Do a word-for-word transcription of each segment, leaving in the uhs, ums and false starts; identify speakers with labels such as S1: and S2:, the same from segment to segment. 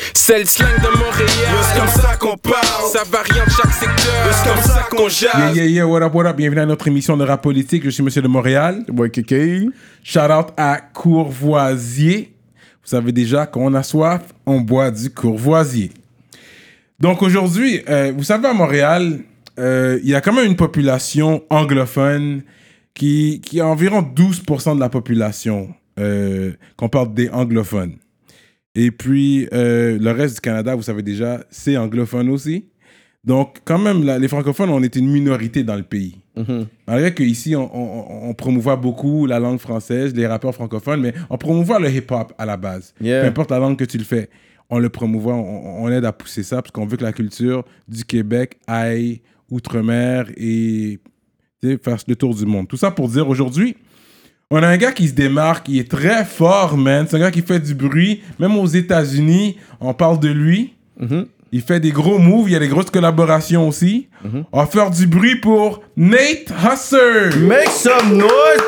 S1: C'est le slang de Montréal.
S2: C'est comme ça qu'on parle.
S1: Ça varie en chaque secteur.
S2: C'est comme ça qu'on jase.
S3: Yeah, yeah, yeah, what up, what up? Bienvenue à notre émission de rap politique. Je suis Monsieur de Montréal.
S4: Boy Kéké.
S3: Shout out à Courvoisier. Vous savez déjà, quand on a soif, on boit du Courvoisier. Donc aujourd'hui, euh, vous savez, à Montréal, euh, il y a quand même une population anglophone qui, qui est environ douze pour cent de la population, euh, qu'on parle des anglophones. Et puis, euh, le reste du Canada, vous savez déjà, c'est anglophone aussi. Donc, quand même, la, les francophones, on est une minorité dans le pays. Mm-hmm. Malgré qu'ici, on, on, on promouvoit beaucoup la langue française, les rappeurs francophones, mais on promouvoit le hip-hop à la base. Yeah. Peu importe la langue que tu le fais, on le promouvoit, on, on aide à pousser ça, parce qu'on veut que la culture du Québec aille outre-mer et fasse le tour du monde. Tout ça pour dire, aujourd'hui, on a un gars qui se démarque, il est très fort, man. C'est un gars qui fait du bruit. Même aux États-Unis, on parle de lui. Mm-hmm. Il fait des gros moves, il y a des grosses collaborations aussi. Mm-hmm. On va faire du bruit pour Nate Husser.
S4: Make some noise.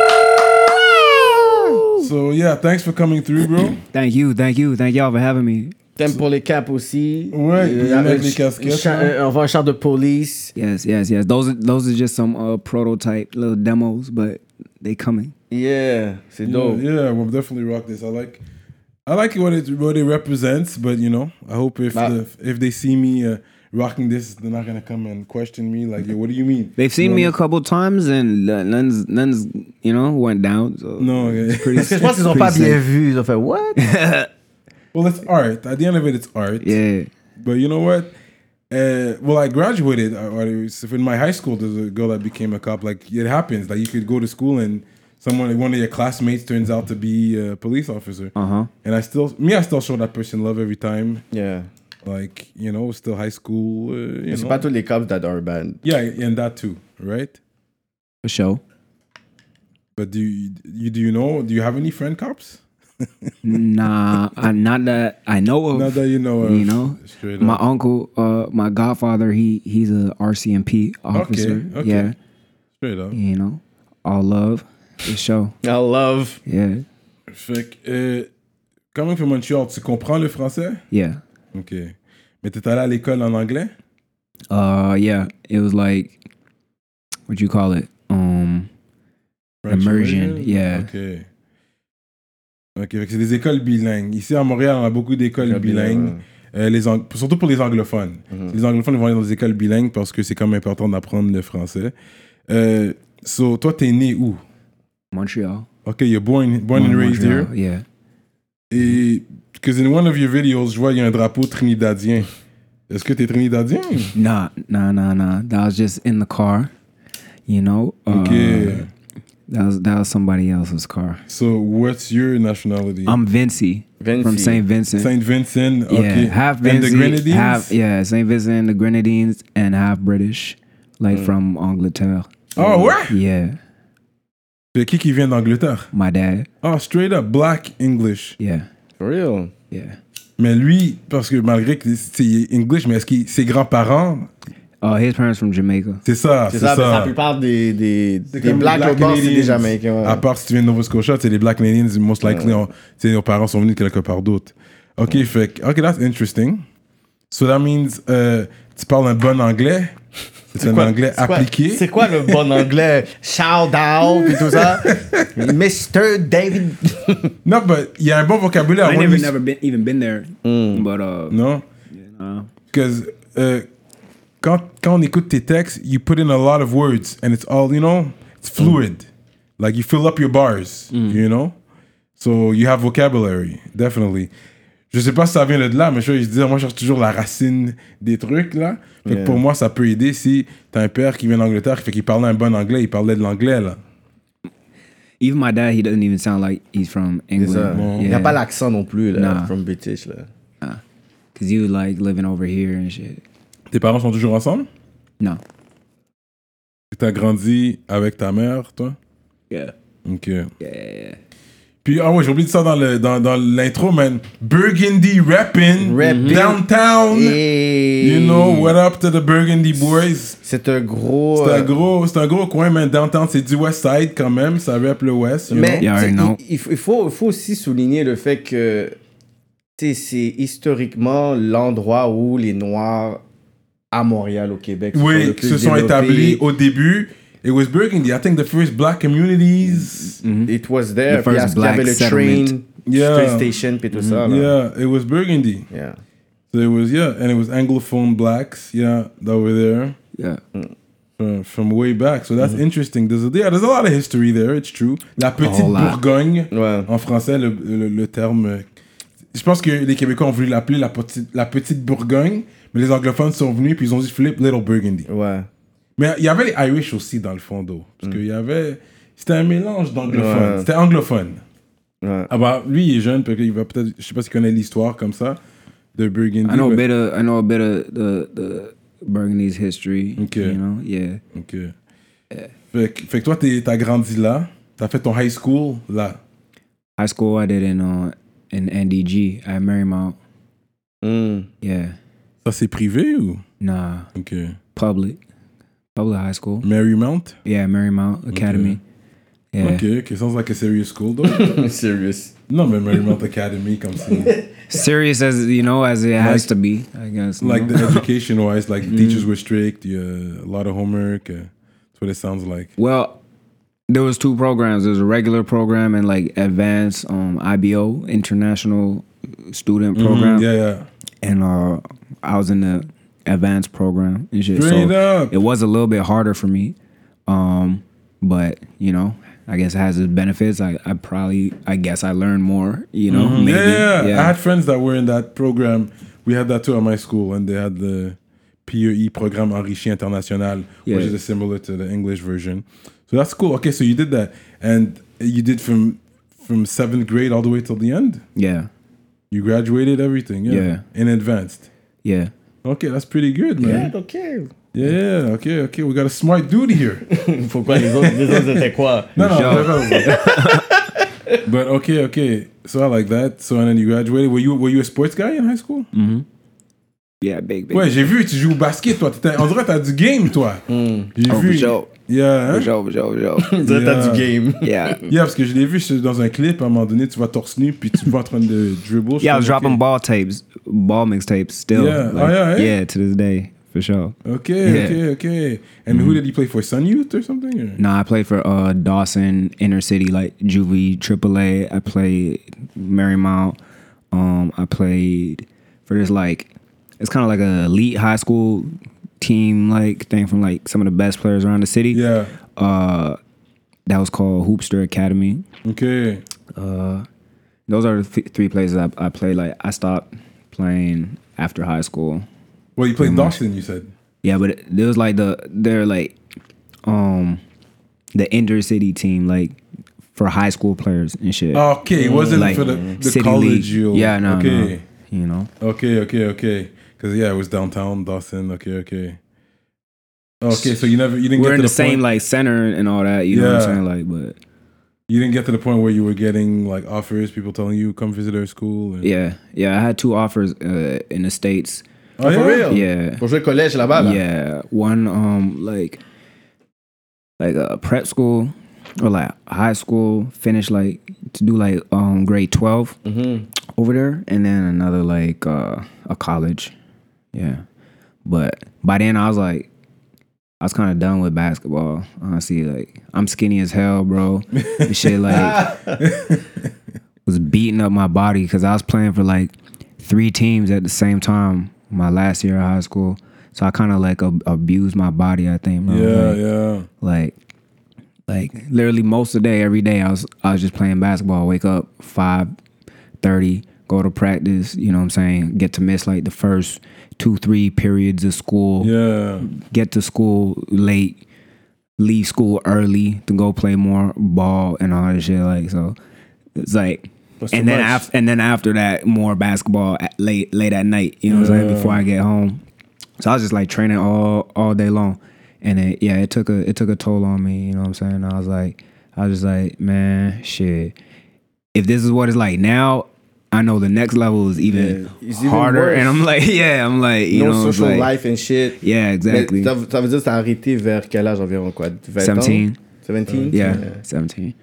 S3: So yeah, thanks for coming through, bro.
S5: Thank you, thank you, thank y'all for having me.
S4: T'aimes pour les caps aussi.
S3: Ouais, euh, avec les casquettes.
S4: Cha- euh, on voit un char de police.
S5: Yes, yes, yes. Those are, those are just some uh, prototype little demos, but they coming.
S4: Yeah, c'est dope.
S3: Yeah, yeah, we'll definitely rock this. I like, I like what it what it represents, but you know, I hope if
S4: bah.
S3: the, if they see me uh, rocking this, they're not gonna come and question me like, yo, what do you mean?
S5: They've seen
S3: you
S5: me
S3: know?
S5: a couple times and none's, none's, you know, went down. So
S3: no, okay.
S4: Parce que je pense qu'ils ont pas bien vu. Ils ont fait what?
S3: Well, it's art. At the end of it, it's art.
S5: Yeah.
S3: But you know what? Uh, well, I graduated. Uh, in my high school, there's a girl that became a cop. Like, it happens. Like, you could go to school and someone, one of your classmates turns out to be a police officer.
S5: Uh-huh.
S3: And I still, me, I still show that person love every time.
S4: Yeah.
S3: Like, you know, still high school. Uh, you
S4: c'est
S3: know.
S4: pas tous les cops that are bad.
S3: Yeah, and that too, right?
S5: For sure.
S3: But do you, you, do you know, do you have any friend cops?
S5: Nah, I, not that I know of.
S3: Not that you know of.
S5: You know, my
S3: up.
S5: uncle, uh, my godfather, he he's a R C M P officer.
S3: Okay, okay.
S5: Yeah,
S3: straight up.
S5: You know, all love, for sure.
S4: All love.
S5: Yeah.
S3: Fait que, euh, quand même, pour Montreal, tu comprends le français?
S5: Yeah.
S3: Ok. Mais t'es allé à l'école en anglais?
S5: Uh, yeah. It was like, what you call it? Um,
S3: French
S5: immersion.
S3: immersion?
S5: Yeah.
S3: Ok. Ok, c'est des écoles bilingues. Ici à Montréal, on a beaucoup d'écoles bilingues, euh, les ang- surtout pour les anglophones. Mm-hmm. Les anglophones vont aller dans des écoles bilingues parce que c'est quand même important d'apprendre le français. Euh, so, toi, t'es né où?
S5: Montreal.
S3: Ok, you're born, born and raised
S5: Montreal,
S3: here?
S5: Yeah.
S3: Et, because in one of your videos, je vois, il y a un drapeau trinidadien. Est-ce que t'es trinidadien?
S5: Nah, nah, nah, nah. That was just in the car, you know?
S3: Ok.
S5: Uh, That was that was somebody else's car.
S3: So, what's your nationality?
S5: I'm Vinci,
S4: Vinci.
S5: from Saint Vincent.
S3: Saint Vincent, okay.
S5: Yeah, half
S3: and
S5: Vinci,
S3: the Grenadines?
S5: half yeah, Saint Vincent and the Grenadines, and half British, like mm. from Angleterre.
S3: Oh, what?
S5: Yeah.
S3: C'est qui qui vient d'Angleterre?
S5: My dad.
S3: Oh, straight up, black English.
S5: Yeah.
S4: For real?
S5: Yeah.
S3: Mais lui, parce que malgré que c'est English, mais est-ce que ses grands-parents...
S5: Oh, his parents from Jamaica.
S3: C'est ça, c'est,
S4: c'est ça.
S3: ça.
S4: La plupart des, des, des
S3: black,
S4: black Canadians, c'est des Jamaïcains. Ouais.
S3: À part si tu viens de Nova Scotia, c'est les Black Canadians, most likely, ouais. Nos parents sont venus quelque part d'autre. OK, ouais. Fait que, OK, that's interesting. So that means, uh, tu parles un bon anglais? C'est, c'est un quoi, anglais
S4: c'est
S3: appliqué?
S4: Quoi, c'est quoi le bon anglais? Shout out et tout ça? mister David.
S3: Non, but il y a un bon vocabulaire.
S5: I never, never been, even been there. Mm. But, uh...
S3: Non?
S5: Yeah,
S3: because... Uh, Quand, quand on écoute tes textes, you put in a lot of words and it's all, you know, it's fluid. Mm. Like you fill up your bars, mm. you know? So you have vocabulary, definitely. Je sais pas si ça vient de là, mais je veux dire, moi je cherche toujours la racine des trucs, là. Fait yeah. que pour moi, ça peut aider si t'as un père qui vient d'Angleterre, qui fait qu'il parlait un bon anglais, il parlait de l'anglais, là.
S5: Even my dad, he doesn't even sound like he's from England.
S4: Bon. Yeah. Il n'a pas l'accent non plus, là,
S5: nah.
S4: from British, là.
S5: Nah. Cause you like living over here and shit.
S3: Tes parents sont toujours ensemble?
S5: Non.
S3: T'as grandi avec ta mère, toi?
S5: Yeah.
S3: Ok.
S5: Yeah.
S3: Puis, ah ouais, j'ai oublié de ça dans, le, dans, dans l'intro, man. Burgundy rapping,
S4: rapping.
S3: Downtown.
S4: Hey.
S3: You know, what up to the Burgundy boys?
S4: C'est un gros...
S3: C'est un gros, c'est un gros coin, man. Downtown, c'est du West Side quand même. Ça rappe le West, you
S4: Mais
S3: know?
S5: Yeah, I know.
S4: il, il, faut, il faut aussi souligner le fait que tu sais, c'est historiquement l'endroit où les Noirs à Montréal, au Québec, se
S3: Oui,
S4: sont le
S3: qui
S4: plus
S3: se sont
S4: développés.
S3: établis au début. It was Burgundy. I think the first black communities.
S4: It was there.
S5: The
S4: Puis
S5: first
S4: il y avait
S5: black
S4: le
S5: settlement.
S4: train,
S3: Yeah.
S4: train station, puis tout ça. Là.
S3: Yeah, it was Burgundy.
S4: Yeah.
S3: So it was, yeah, and it was Anglophone blacks, yeah, that were there.
S5: Yeah.
S3: From, from way back, so that's interesting. There's a, yeah, there's a lot of history there. It's true. La petite
S5: whole lot.
S3: Bourgogne,
S4: Ouais.
S3: en français, le, le, le terme. euh, Je pense que les Québécois ont voulu l'appeler la petite, la petite Bourgogne, mais les anglophones sont venus puis ils ont dit flip Little Burgundy.
S4: Ouais.
S3: Mais il y avait les Irish aussi dans le fond d'eau, parce qu'il y avait, c'était un mélange d'anglophones.
S4: Ouais.
S3: C'était anglophone.
S4: Ouais.
S3: Ah bah lui il est jeune, peut-être il va peut-être, je sais pas s'il connaît l'histoire comme ça de Burgundy.
S5: I know a
S3: but-
S5: bit of I know a bit of the the Burgundy's history.
S3: Okay.
S5: You know, yeah.
S3: Ok. Fait, que- fait que toi, t'es- t'as grandi là. T'as fait ton high school là.
S5: High school I did in uh in N D G at Marymount.
S4: Mm.
S5: Yeah.
S3: Ça, c'est privé ou?
S5: Nah,
S3: Ok.
S5: public. Public high school.
S3: Marymount?
S5: Yeah, Marymount Academy. Yeah.
S3: Ok, ok. Sounds like a serious school, though.
S4: Serious.
S3: non, mais Marymount Academy, comme si...
S5: Serious as you know, as it has
S3: Like-
S5: to be, I guess. you
S3: like
S5: know?
S3: the education-wise, like the teachers were strict, you, uh, a lot of homework. Uh, that's what it sounds like.
S5: Well, there was two programs. There was a regular program and like advanced um, I B O, International Student Program.
S3: Mm, yeah, yeah.
S5: And uh, I was in the advanced program and shit.
S3: Straight
S5: so
S3: up.
S5: it was a little bit harder for me. Um, but, you know, I guess it has its benefits. I, I probably, I guess I learned more, you know,
S3: Mhm.
S5: maybe.
S3: Yeah, yeah, I had friends that were in that program. We had that too at my school, and they had the P E I, Programme Enrichi International,
S5: Yeah.
S3: which is similar to the English version. So that's cool. Okay, so you did that, and you did from from seventh grade all the way till the end.
S5: Yeah.
S3: You graduated everything, yeah,
S5: Yeah.
S3: in advanced.
S5: Yeah.
S3: Okay, that's pretty good, man.
S4: Yeah, ok.
S3: Yeah, okay, okay. We got a smart dude here.
S4: Pourquoi les autres, les autres étaient quoi?
S3: No, no,
S5: Sure.
S3: no, no. But okay, okay. So I like that. So and then you graduated. Were you were you a sports guy in high school?
S5: Yeah, big, big.
S3: Ouais, j'ai vu, tu joues au basket, toi. T'étais- On dirait que t'as du game, toi. J'ai
S5: Oh,
S3: vu.
S5: for sure.
S3: Yeah, hein?
S5: For sure, for sure, for sure.
S4: On dirait que t'as
S3: Yeah.
S4: du game.
S5: Yeah.
S3: Yeah, parce que je l'ai vu c'est dans un clip, à un moment donné, tu vas torse nu, puis tu vas en train de dribble.
S5: Yeah, I was
S3: Je fais,
S5: dropping
S3: okay.
S5: ball tapes, ball mixtapes still.
S3: Yeah.
S5: Like,
S3: Oh, yeah, yeah?
S5: Yeah, to this day, for sure.
S3: Okay,
S5: Yeah.
S3: okay, okay. And who did he play for? Sun Youth or something? Or?
S5: No, I played for uh, Dawson, Inner City, like Juvie, Triple A. I played Marymount. Um, I played for this like, it's kind of like a elite high school team like thing from like some of the best players around the city.
S3: Yeah.
S5: Uh, that was called Hoopster Academy.
S3: Okay.
S5: Uh, those are the th- three places I, I played. Like I stopped playing after high school.
S3: Well, you played Dawson, you said.
S5: Yeah, but it, there was like the they're like um the intercity team like for high school players and shit.
S3: Okay, it wasn't
S5: Like,
S3: for the, the
S5: City
S3: college.
S5: League.
S3: You,
S5: Yeah, no,
S3: okay.
S5: no. You know.
S3: Okay, okay, okay. Because yeah, it was downtown Dawson. Okay, okay. Okay, so you never you didn't
S5: We're
S3: get
S5: in
S3: to
S5: the,
S3: the
S5: same
S3: point,
S5: like center and all that. You know what
S3: Yeah.
S5: I'm saying? Like, but
S3: you didn't get to the point where you were getting like offers, people telling you come visit our school. And,
S5: yeah, yeah. I had two offers uh, in the states.
S3: Oh,
S4: For
S3: yeah?
S4: real?
S5: Yeah.
S4: Pour jouer collège là-bas, là?
S5: Yeah, one um like like a prep school or like high school, finish like to do like um grade twelve over there, and then another like uh a college. Yeah, but by then I was like, I was kind of done with basketball. Honestly, like I'm skinny as hell, bro. This shit like was beating up my body because I was playing for like three teams at the same time my last year of high school. So I kind of like ab- abused my body, I think, bro.
S3: Yeah,
S5: like,
S3: yeah.
S5: like like literally most of the day, every day I was I was just playing basketball. Wake up five thirty, go to practice, you know what I'm saying? Get to miss like the first two, three periods of school.
S3: Yeah.
S5: Get to school late, leave school early to go play more ball and all that shit. Like, so it's like,
S4: That's
S5: and
S4: too
S5: then
S4: much.
S5: after, and then after that, more basketball at late, late at night. You know what I'm saying? Before I get home, so I was just like training all, all day long, and it, yeah, it took a, it took a toll on me. You know what I'm saying? I was like, I was just like, man, shit. If this is what it's like now, I know the next level is even
S4: Yeah, it's even
S5: harder.
S4: worse.
S5: And I'm like, yeah, I'm like, you
S4: No
S5: know, it's
S4: social
S5: like,
S4: life and shit.
S5: yeah, exactly.
S4: Mais ça, ça veut dire que t'as arrêté vers quel âge environ, quoi? vingt
S5: seventeen.
S4: ans? seventeen?
S5: Yeah, seventeen.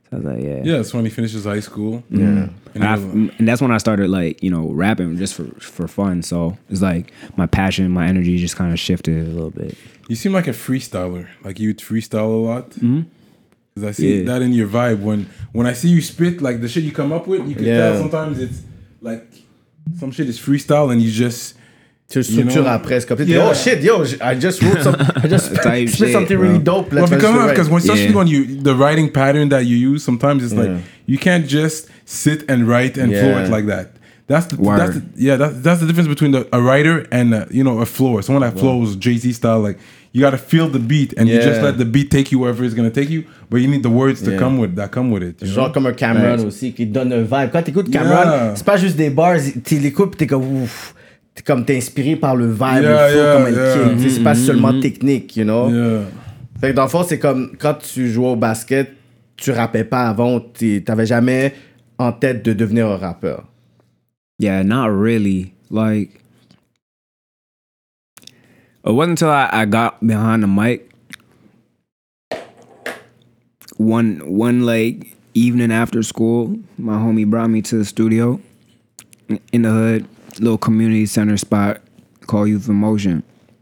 S5: So I was like, yeah.
S3: Yeah, it's when he finishes high school.
S4: Yeah.
S5: And, I, and that's when I started like, you know, rapping just for, for fun. So it's like my passion, my energy just kind of shifted a little bit.
S3: You seem like a freestyler. Like you would freestyle a lot.
S5: Mm-hmm.
S3: Cause I see
S5: Yeah.
S3: that in your vibe. When when I see you spit, like the shit you come up with, you can
S4: Yeah.
S3: tell sometimes it's like some shit is freestyle and you just
S4: Tu le structures
S3: know?
S4: après. C'est comme,
S3: Yeah.
S4: oh shit, yo, I just wrote some, I just
S5: Type
S4: spit
S5: shit,
S4: something
S5: bro.
S4: really dope.
S3: well,
S4: Let's
S3: because
S4: just
S3: because when especially
S5: Yeah.
S3: when you the writing pattern that you use, sometimes it's like
S4: Yeah.
S3: you can't just sit and write and flow
S4: Yeah.
S3: it like that. That's the
S5: Word.
S3: that's the, yeah that's that's the difference between the, a writer and uh you know a flower. Someone that flows Jay-Z style, like you got to feel the beat and you just
S4: Yeah.
S3: let the beat take you wherever it's gonna take you, but you need the words to
S4: Yeah.
S3: come with that come with it. you
S4: Genre
S3: know?
S4: comme un Cameron
S5: Right.
S4: aussi, qui donne un vibe. Quand t'écoutes Cameron,
S3: Yeah.
S4: c'est pas juste des bars, tu l'écoutes pis t'es comme ouf. T'es comme t'es inspiré par le vibe,
S3: Yeah,
S4: le flow,
S3: yeah,
S4: comme elle
S3: yeah.
S4: kick. Tu sais, c'est pas seulement technique, you know?
S3: Yeah.
S4: Fait que dans le fond, c'est comme quand tu jouais au basket, tu rappais pas avant, t'es- t'avais jamais en tête de devenir un rappeur.
S5: Yeah, not really. Like, it wasn't until I, I got behind the mic one one like evening after school, my homie brought me to the studio in the hood, little community center spot called Youth in Motion.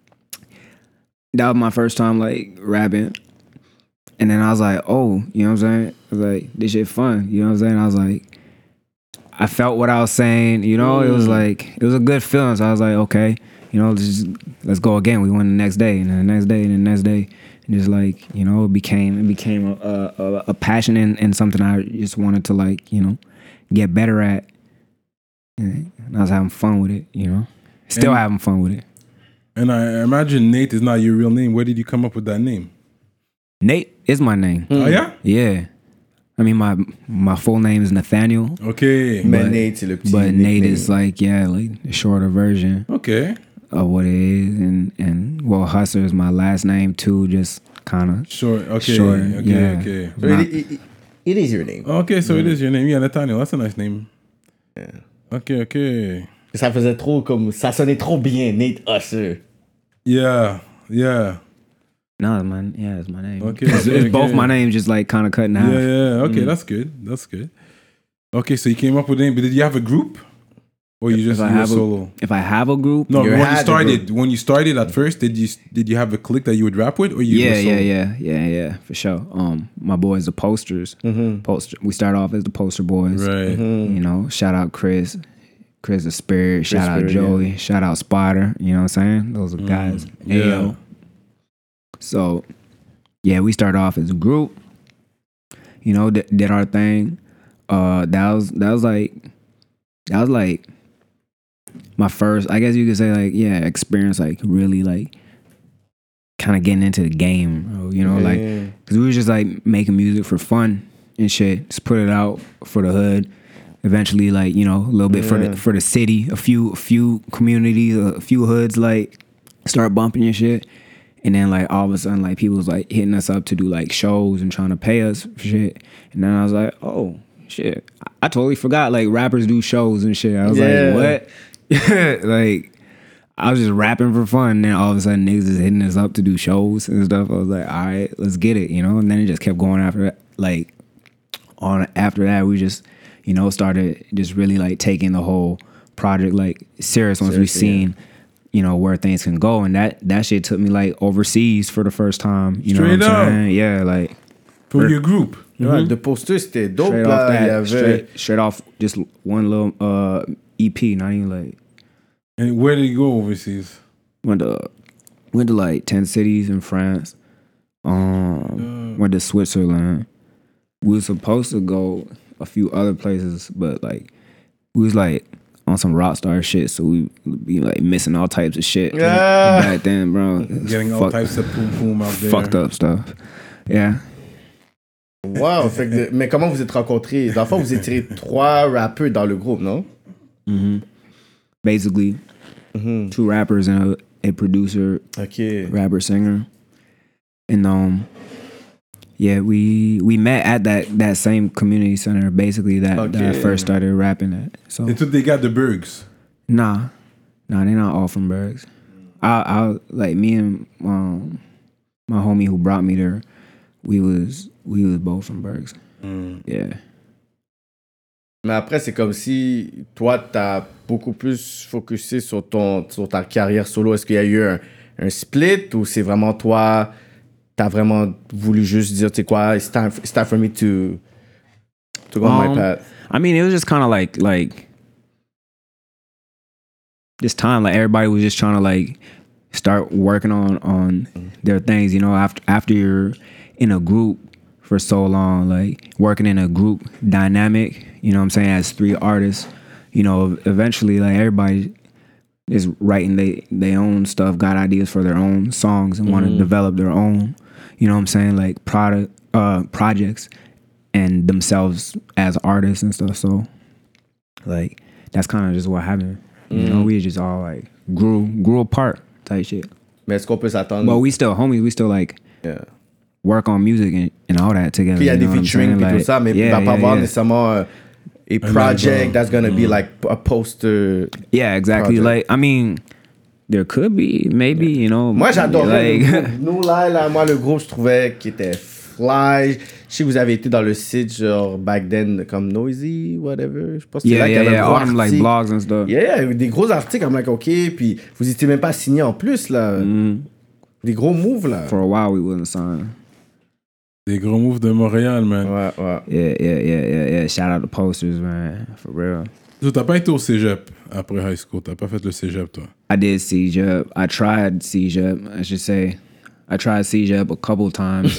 S5: That was my first time like rapping. And then I was like, oh, you know what I'm saying? I was like, this shit fun. You know what I'm saying? I was like, I felt what I was saying, you know, it was like, it was a good feeling. So I was like, okay, you know, let's just, let's go again. We went the next day and then the next day and the next day. And just like, you know, it became, it became a, a, a passion and, and something I just wanted to like, you know, get better at. And I was having fun with it, you know, still
S3: And-
S5: having fun with it.
S3: And I imagine Nate is not your real name. Where did you come up with that name?
S5: Nate is my name.
S3: Oh yeah.
S5: Yeah. I mean, my my full name is Nathaniel,
S3: Okay.
S4: Mais
S5: But-
S4: Nate, c'est le petit.
S5: but Nate
S4: nickname.
S5: is like, yeah, like the shorter version
S3: Okay.
S5: of what it is. And, and well, Hustler is my last name too, just kind of.
S3: Sure. Okay.
S5: Sure,
S3: Okay.
S5: yeah.
S3: Okay.
S4: So it, it, it is your name.
S3: Okay. So it is your name. Yeah, Nathaniel. That's a nice name.
S4: Yeah.
S3: Okay. Okay.
S4: Ça faisait trop comme. Ça sonnait trop bien, Nate Usher.
S3: Yeah. Yeah.
S5: No, it's my yeah, it's my name.
S3: Okay,
S5: it's,
S3: okay,
S5: it's both
S3: okay.
S5: my names, just like kind of cutting out.
S3: Yeah. Yeah. Okay.
S5: Mm.
S3: That's good. That's good. Okay. So you came up with a name, but did you have a group, or you just
S5: If I
S3: you were
S5: have a-
S3: solo?
S5: If I have a group,
S3: No,
S4: You
S3: when you
S4: had a
S3: started, when you started at first, did you did you have a clique that you would rap with, or you?
S5: yeah,
S3: were solo?
S5: yeah, yeah, yeah, yeah, for sure. Um, my boys, the Posters. Poster. We start off as the Poster Boys.
S3: Right.
S5: You know, shout out Chris, Chris the Spirit. shout out
S4: Spirit,
S5: Joey. Shout out Spider. You know what I'm saying? Those are guys.
S3: yeah.
S5: Ayo. So, yeah, we start off as a group. You know, did, did our thing. Uh, that was that was like that was like my first. I guess you could say like yeah, experience like really like kind of getting into the game. Bro, you know, like
S4: Yeah.
S5: because we was just like making music for fun and shit. Just put it out for the hood. Eventually, like you know, a little bit for
S4: Yeah.
S5: the for the city. A few a few communities, a few hoods like start bumping your shit. And then like all of a sudden like people was like hitting us up to do like shows and trying to pay us for shit. And then I was like, oh shit. I, I totally forgot like rappers do shows and shit. I was
S4: Yeah.
S5: like, what? Like I was just rapping for fun. And then all of a sudden niggas is hitting us up to do shows and stuff. I was like, all right, let's get it, you know? And then it just kept going after that. Like on after that we just, you know, started just really like taking the whole project like serious once we
S4: Seriously, yeah.
S5: seen you know, where things can go. And that that shit took me like overseas for the first time. You
S3: Straight
S5: know what I'm
S3: up.
S5: saying? Yeah, like
S3: For your group.
S4: Ouais, de Poster, c'était dope.
S5: straight
S4: Là,
S5: off
S4: il y
S5: that,
S4: avait.
S5: straight, straight off just one little uh E P, not even like
S3: And where did you go overseas?
S5: went to went to like ten cities in France. Um went to Switzerland. We were supposed to go a few other places, but like we was like on some rock star shit, so we be like missing all types of shit
S4: Yeah.
S5: back then, bro.
S3: Getting all
S5: Fuck-
S3: types of poom poom out there.
S5: fucked up stuff. Yeah.
S4: Wow. Fait que de- mais comment vous êtes rencontrés? Dans le fond, vous étiez trois rappeurs dans le groupe, non?
S5: Basically, two rappers and a, a producer,
S4: Ok.
S5: rapper, singer, and um, yeah, we we met at that that same community center. Basically, that, that I
S4: Okay.
S5: first started rapping at. So
S3: Until they got the Bergs.
S5: nah, nah, they're not all from Bergs. I I like me and um my homie who brought me there. We was we was both from Bergs.
S3: Mm.
S5: Yeah.
S4: Mais après, c'est comme si toi, t'as beaucoup plus focusé sur, ton, sur ta carrière solo. Est-ce qu'il y a eu un, un split ou c'est vraiment toi, t'as vraiment voulu juste dire, tu sais quoi, it's time, it's time for me to, to go on my
S5: Um,
S4: path?
S5: I mean, it was just kind of like like this time, like everybody was just trying to like start working on on their things. You know, after after you're in a group for so long, like working in a group dynamic. You know what I'm saying? As three artists, you know, eventually, like everybody is writing they their own stuff, got ideas for their own songs, and want to develop their own. You know what I'm saying? Like product uh, projects. And themselves as artists and stuff. So, like, that's kind of just what happened. You know, we just all like grew grew apart type shit.
S4: Mais est-ce qu'on peut s'attendre?
S5: But we still homies. We still like
S4: Yeah.
S5: work on music and, and all that together.
S4: Puis il y a
S5: you
S4: des
S5: know what I'm
S4: featuring
S5: saying?
S4: puis tout
S5: Like,
S4: ça, mais
S5: yeah,
S4: il va pas
S5: yeah,
S4: avoir
S5: yeah.
S4: nécessairement uh, a project
S3: album.
S4: that's gonna be like a poster.
S5: Yeah, exactly.
S4: project.
S5: Like, I mean, there could be maybe, you know.
S4: Moi, j'adorais
S5: like,
S4: le groupe. Nous, là, là, moi, le groupe, je trouvais qu'il était fly. Je sais que vous avez été dans le site, genre, back then, comme Noisy, whatever. Je pense que c'est
S5: yeah,
S4: là qu'il y
S5: yeah,
S4: avait
S5: yeah.
S4: un gros
S5: All them like
S4: article.
S5: blogs and stuff.
S4: Yeah, yeah, il y avait des gros articles, comme like, OK, puis vous étiez même pas signé en plus, là. Des gros moves, là.
S5: For a while, we wasn't signed.
S3: Des gros moves de Montréal, man.
S4: Ouais, ouais.
S5: Yeah, yeah, yeah, yeah, yeah. Shout out to posters, man. For real.
S3: So, t'as pas été au cégep après high school. T'as pas fait le cégep, toi.
S5: I did C J E P. I tried C J E P, I should say. I tried C J E P a couple times.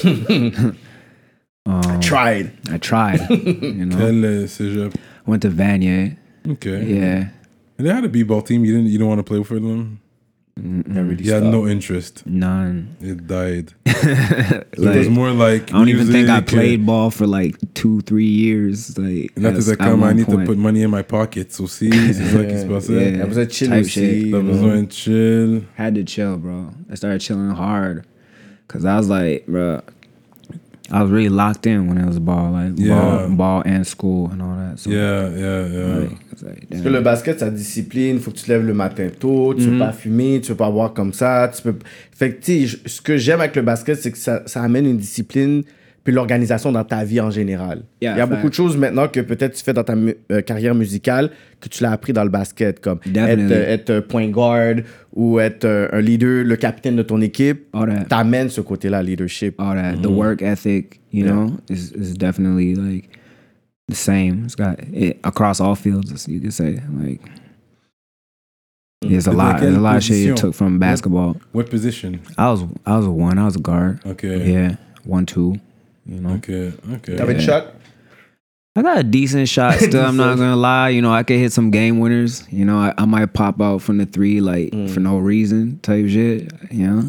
S5: um,
S4: Tried.
S5: I tried. You know,
S3: Quel euh, cégep?
S5: went to Vanier.
S3: Okay.
S5: Yeah,
S3: And they had a b-ball team. You didn't. You don't want to play for them.
S4: Really
S3: You had
S4: stopped.
S3: no interest.
S5: none.
S3: It died. it was
S5: Like,
S3: more like.
S5: I don't even think I
S3: music,
S5: played ball for like two, three years. Like,
S3: Là,
S5: at a-
S3: t'étais
S5: at
S3: comme, I
S5: one
S3: need to
S5: point.
S3: put money in my pockets aussi. C'est ça qui se passait.
S5: Yeah.
S4: Elle besoin de chill
S5: Type
S4: aussi.
S5: shit.
S3: T'as besoin de chill.
S5: Had to chill, bro. I started chilling hard, cause I was like, bro, I was really locked in when it was ball, like
S3: Yeah.
S5: ball, ball and school and all that. So,
S3: Yeah, yeah, yeah.
S5: like, it's like,
S4: Parce
S5: damn.
S4: que le basket, ça discipline. Faut que tu te lèves le matin tôt. Tu
S5: Mm-hmm.
S4: veux pas fumer. Tu veux pas boire comme ça. Tu peux... Fait que, tu sais, je- ce que j'aime avec le basket, c'est que ça, ça amène une discipline puis l'organisation dans ta vie en général.
S5: Yeah,
S4: Il y a
S5: fact.
S4: beaucoup de choses maintenant que peut-être tu fais dans ta mu- euh, carrière musicale que tu l'as appris dans le basket, comme être,
S5: Definitely.
S4: euh, être euh, point guard ou être euh, un leader, le capitaine de ton équipe.
S5: All that.
S4: T'amènes ce côté-là, leadership.
S5: all that. The work ethic, you
S4: Yeah.
S5: know, is is definitely like the same. It's got it across all fields, you could say. Like, there's a
S3: But
S5: lot.
S3: like
S5: There's a
S3: quelle
S5: lot of shit you
S3: position?
S5: took from basketball.
S3: What position?
S5: I was I was a one. I was a guard.
S3: Okay.
S5: Yeah, one two. You know,
S3: Okay, okay.
S4: T'avais une
S5: Yeah.
S4: shot?
S5: I got a decent shot. Still, I'm not gonna lie. You know, I could hit some game winners. You know, I, I might pop out from the three like for no reason type shit. You know,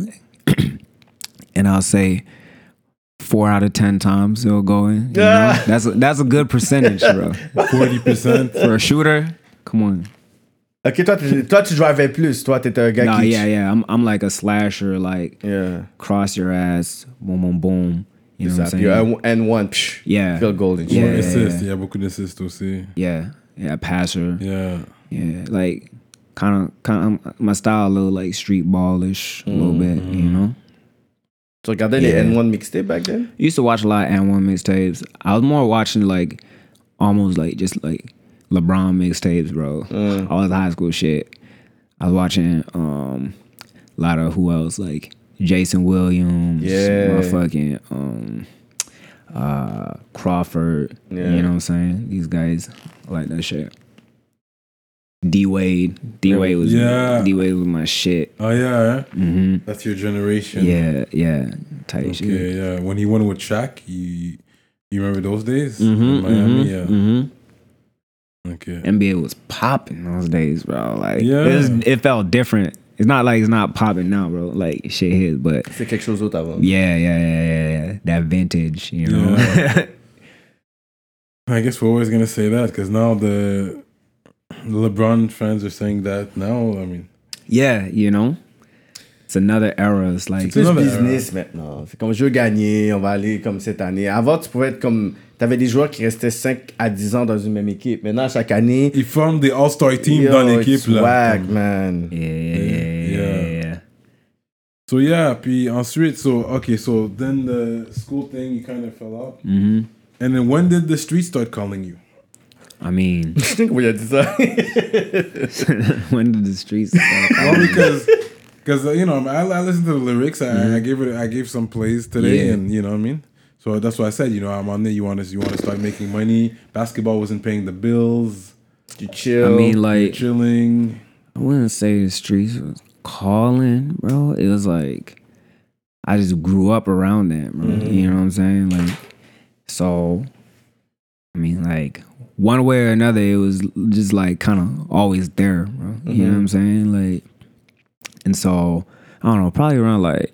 S5: and I'll say four out of ten times it'll go in. You know, that's a, that's a good percentage, bro.
S3: forty percent.
S5: For a shooter, come on.
S4: Ok, toi, tu- toi, tu drivais plus. Toi, t'étais un gars
S5: Nah,
S4: qui...
S5: yeah, yeah. I'm I'm like a slasher, like
S4: Yeah.
S5: cross your ass, boom, boom, boom. You know what I'm
S4: Puis
S5: saying?
S4: un and one, psh,
S5: Yeah,
S4: field goal and shit.
S5: Yeah.
S3: Assist. Il y a beaucoup d'assists aussi.
S5: yeah, yeah. Passer.
S3: Yeah.
S5: Yeah, like kind of, kind of my style, a little like street ballish, a little bit, you know.
S4: Tu regardais
S5: Yeah.
S4: les N one mixtapes back then?
S5: Used to watch a lot of N one mixtapes. I was more watching like almost like just like LeBron mixtapes, bro. All the high school shit. I was watching um a lot of who else like Jason Williams,
S4: Yeah.
S5: motherfucking um uh Crawford.
S4: Yeah.
S5: You know what I'm saying? These guys I like that shit. D Wade, D Wade was
S3: Yeah.
S5: D Wade was my shit.
S3: Oh yeah, eh?
S5: hmm
S3: That's your generation.
S5: Yeah, yeah, tight shit.
S3: Okay, yeah. When he won with Shaq, you you remember those days
S5: Mm-hmm,
S3: in Miami? Yeah.
S5: mm-hmm.
S3: Okay.
S5: N B A was popping those days, bro. Like,
S3: Yeah.
S5: it, was, it felt different. It's not like it's not popping now, bro. Like, shit hit, but
S4: C'est quelque chose d'autre avant.
S5: yeah, yeah, yeah, yeah, yeah. That vintage, you know.
S3: Yeah. I guess we're always gonna say that because now the LeBron fans are saying that now. I mean,
S5: yeah, you know. It's another era. It's like,
S4: C'est plus
S3: another
S4: business maintenant. C'est comme je veux gagner, on va aller comme cette année. Avant, tu pouvais être comme. T'avais des joueurs qui restaient cinq à dix ans dans une même équipe. Maintenant, chaque année.
S3: ils forment des All-Star teams
S4: yo,
S3: dans l'équipe
S4: it's
S3: là.
S4: whack, man.
S5: yeah, yeah, yeah, yeah,
S3: Yeah.
S5: yeah, yeah.
S3: So yeah, puis ensuite, so okay, so then the school thing, you kind of fell out.
S5: Mm-hmm.
S3: And then when did the street start calling you?
S5: I mean,
S4: Oui, il a dit ça.
S5: when did the streets start?
S3: Well, because because uh, you know I, I listened to the lyrics. I, I gave it. I gave some plays today,
S5: Yeah.
S3: and you know what I mean. So that's why I said, you know, I'm on there. You want to you want to start making money. Basketball wasn't paying the bills.
S4: Tu chill.
S5: I mean,
S3: You're
S5: like,
S3: chilling.
S5: I wouldn't say the streets was calling, bro. It was like I just grew up around that, bro. You know what I'm saying? Like, so I mean, like one way or another, it was just like kind of always there, bro. You know what I'm saying? Like, and so I don't know, probably around like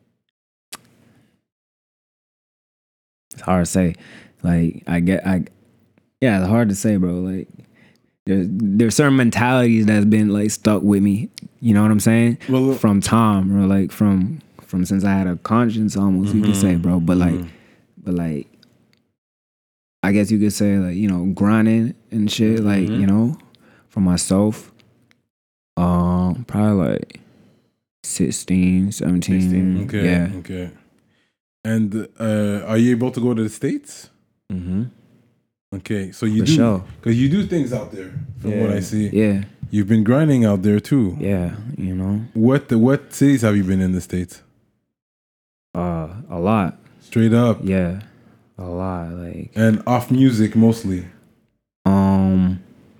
S5: it's hard to say. Like, I get, I yeah, it's hard to say, bro. Like. There's there's certain mentalities that's been like stuck with me. You know what I'm saying?
S3: Well,
S5: from time, or like from from since I had a conscience, almost you could say, bro. But like, but like, I guess you could say like you know grinding and shit. Like you know, for myself, um, probably like sixteen, seventeen.
S4: sixteen,
S3: okay,
S5: Yeah.
S3: okay. And uh, are you able to go to the States?
S5: Mm-hmm.
S3: Okay, so you
S5: For
S3: do
S5: sure.
S3: because you do things out there. From
S4: Yeah.
S3: what I see,
S5: Yeah.
S3: you've been grinding out there too.
S5: Yeah. You know,
S3: What the what cities have you been in the States?
S5: uh, a lot.
S3: Straight up,
S5: Yeah, a lot. Like.
S3: and off music mostly.
S5: Um,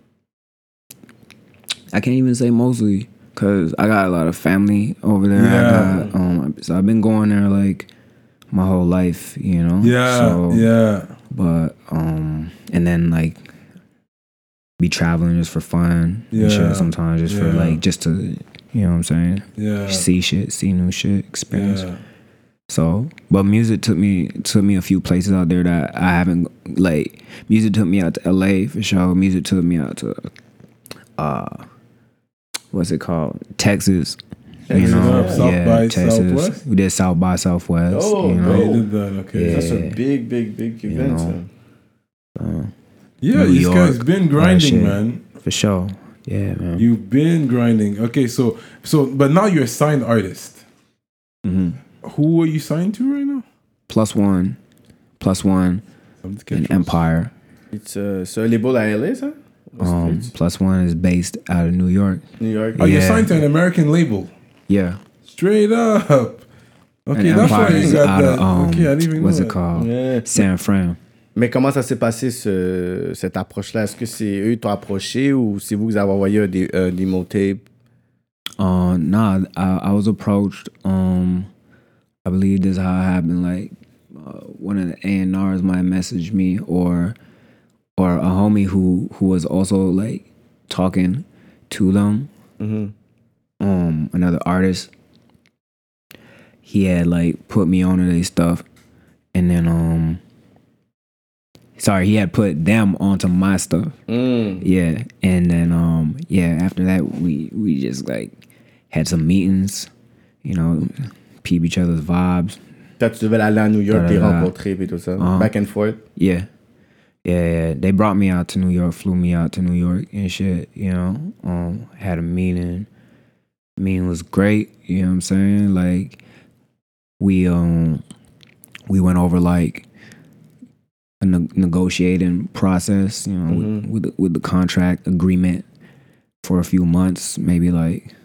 S5: I can't even say mostly because I got a lot of family over there.
S3: Yeah.
S5: I got, um, so I've been going there like my whole life, you know.
S3: Yeah,
S5: So,
S3: yeah,
S5: But um, and then like be traveling just for fun.
S3: Yeah.
S5: And shit sometimes just for
S3: Yeah.
S5: like just to you know what I'm saying.
S3: yeah,
S5: See shit, see new shit, experience.
S3: yeah.
S5: So, but music took me took me a few places out there that I haven't like. Music took me out to L A for sure. Music took me out to uh, what's it called? Texas. You
S3: Texas,
S5: know,
S3: up, South
S5: yeah,
S3: by
S5: Texas.
S3: Southwest?
S5: We did South by Southwest.
S4: Oh,
S5: you
S3: Oh,
S5: know,
S3: you did that, okay.
S5: Yeah.
S4: That's a big, big, big
S5: You
S4: event.
S5: know.
S4: ça.
S5: uh,
S3: Yeah,
S5: New
S3: these
S5: York,
S3: guys been
S5: all that
S3: grinding,
S5: shit.
S3: man.
S5: for sure. Yeah, man.
S3: You've been grinding. Okay, so so but now you're a signed artist.
S5: hmm
S3: Who are you signed to right now?
S5: Plus one, plus one,
S3: Something to
S5: and
S3: catch us.
S5: Empire.
S4: It's, uh, c'est un label à L A, ça? Ou
S5: Um,
S4: States?
S5: plus one is based out of New York.
S4: New York.
S3: Oh, you're
S5: yeah.
S3: signed to an American label.
S5: Yeah.
S3: Straight up. Okay,
S5: And
S3: that's why
S5: Empire
S3: you
S5: is
S3: got
S5: out
S3: that.
S5: of um,
S3: okay, I didn't even
S5: what's
S3: know
S5: it
S3: that.
S5: called?
S4: Yeah.
S5: San Fran.
S4: Mais comment ça s'est passé, ce, cette approche-là? Est-ce que c'est eux qui t'ont approché ou c'est vous qui avez envoyé un, dé- un démo tape?
S5: Uh, nah, I, I was approached. Um, I believe this is how it happened. Like, uh, one of the A and Rs might message me, or or a homie who who was also like talking to them.
S4: Mhm.
S5: Um, another artist. He had like put me onto their stuff, and then um, sorry, he had put them onto my stuff.
S4: Mm.
S5: Yeah, and then um yeah, after that we we just like had some meetings, you know, peep each other's vibes.
S4: Quand tu devais aller à New York, les
S5: Da-da-da.
S4: rencontrer et tout ça.
S5: Uh-huh.
S4: Back and forth.
S5: Yeah. Yeah, yeah. They brought me out to New York, flew me out to New York and shit, you know. Um had a meeting. Meeting was great, you know what I'm saying? Like we um we went over like a ne- negotiating process, you know,
S4: Mhm.
S5: with with the, with the contract agreement for a few months, maybe like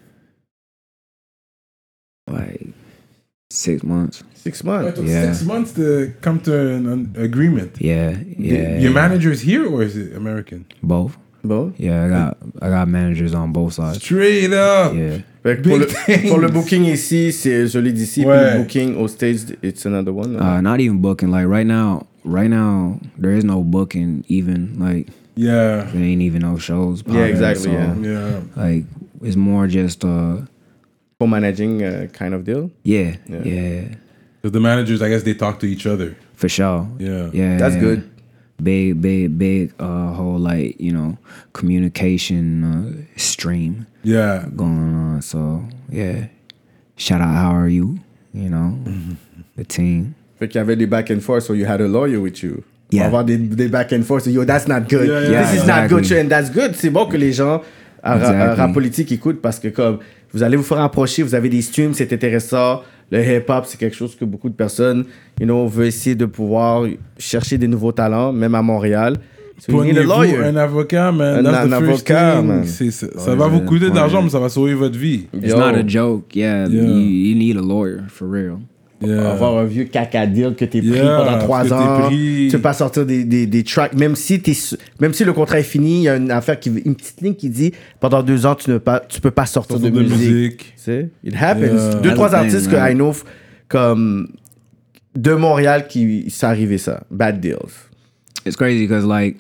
S5: like six months.
S4: Six
S3: It
S4: months.
S3: took
S5: Yeah.
S3: six months to come to an, an agreement.
S5: Yeah, yeah.
S3: Your
S5: yeah.
S3: manager's here or is it American?
S5: Both.
S4: Bon.
S5: Yeah, I got I got managers on both sides.
S3: Straight up.
S5: Yeah.
S4: Fait que pour,
S3: Big
S4: le,
S3: things.
S4: pour le booking ici, c'est celui d'ici. Puis
S3: Ouais.
S4: le booking aux States, it's another one.
S5: Uh,
S4: là.
S5: not even booking. Like right now, right now there is no booking. Even like
S3: Yeah.
S5: there ain't even no shows.
S4: Yeah,
S5: popping,
S4: exactly,
S5: so,
S4: yeah.
S3: Yeah.
S5: Like it's more just uh
S4: Co-managing uh, kind of deal.
S5: yeah
S4: Yeah.
S5: yeah,
S3: Because the managers, I guess they talk to each other.
S5: for sure.
S3: Yeah.
S5: Yeah,
S4: That's
S5: yeah.
S4: good.
S5: Big big big uh whole like you know communication uh, stream
S3: Yeah.
S5: going on. So yeah, shout out. How are you? You know the team.
S4: Fait qu'il y avait des back and forth, so you had a lawyer with you.
S5: Yeah.
S4: Pour avoir des, des back and forth, so yo, that's not good.
S3: Yeah, yeah,
S4: This
S3: yeah,
S4: is not
S5: exactly.
S4: good, and that's good. C'est bon que les gens à, ra- à
S5: Exactly.
S4: rap politique écoutent parce que comme vous allez vous faire approcher, vous avez des streams, c'est intéressant. le hip-hop, c'est quelque chose que beaucoup de personnes, you know, veulent essayer de pouvoir chercher des nouveaux talents, même à Montréal. So you need a
S3: Prenez-vous
S4: lawyer.
S3: un avocat, man.
S4: Un-
S3: That's
S4: un
S3: the first
S4: avocat,
S3: thing.
S4: man.
S3: C'est- ça ça
S5: Ouais,
S3: va vous
S5: c'est
S3: coûter de
S5: le
S3: l'argent,
S5: point.
S3: mais ça va sauver votre vie.
S5: It's
S4: Yo.
S5: not a joke. Yeah,
S3: Yeah.
S5: You, you need a lawyer for real.
S3: Yeah.
S4: Avoir un vieux caca deal que t'es pris
S3: Yeah,
S4: pendant
S3: parce
S4: trois
S3: que t'es
S4: ans.
S3: pris.
S4: Tu peux pas sortir des, des, des tracks. Même si, t'es, su- même si le contrat est fini, il y a une affaire qui, une petite ligne qui dit pendant deux ans, tu ne pas, tu peux pas sortir
S3: Sortir
S4: de,
S3: de
S4: musique.
S3: musique.
S4: Tu sais, it happens.
S3: Yeah.
S4: Deux,
S5: That's
S4: trois
S5: the thing,
S4: artistes que
S5: man.
S4: I know, f- comme de Montréal, qui s'est arrivé ça. Bad deals.
S5: It's crazy because like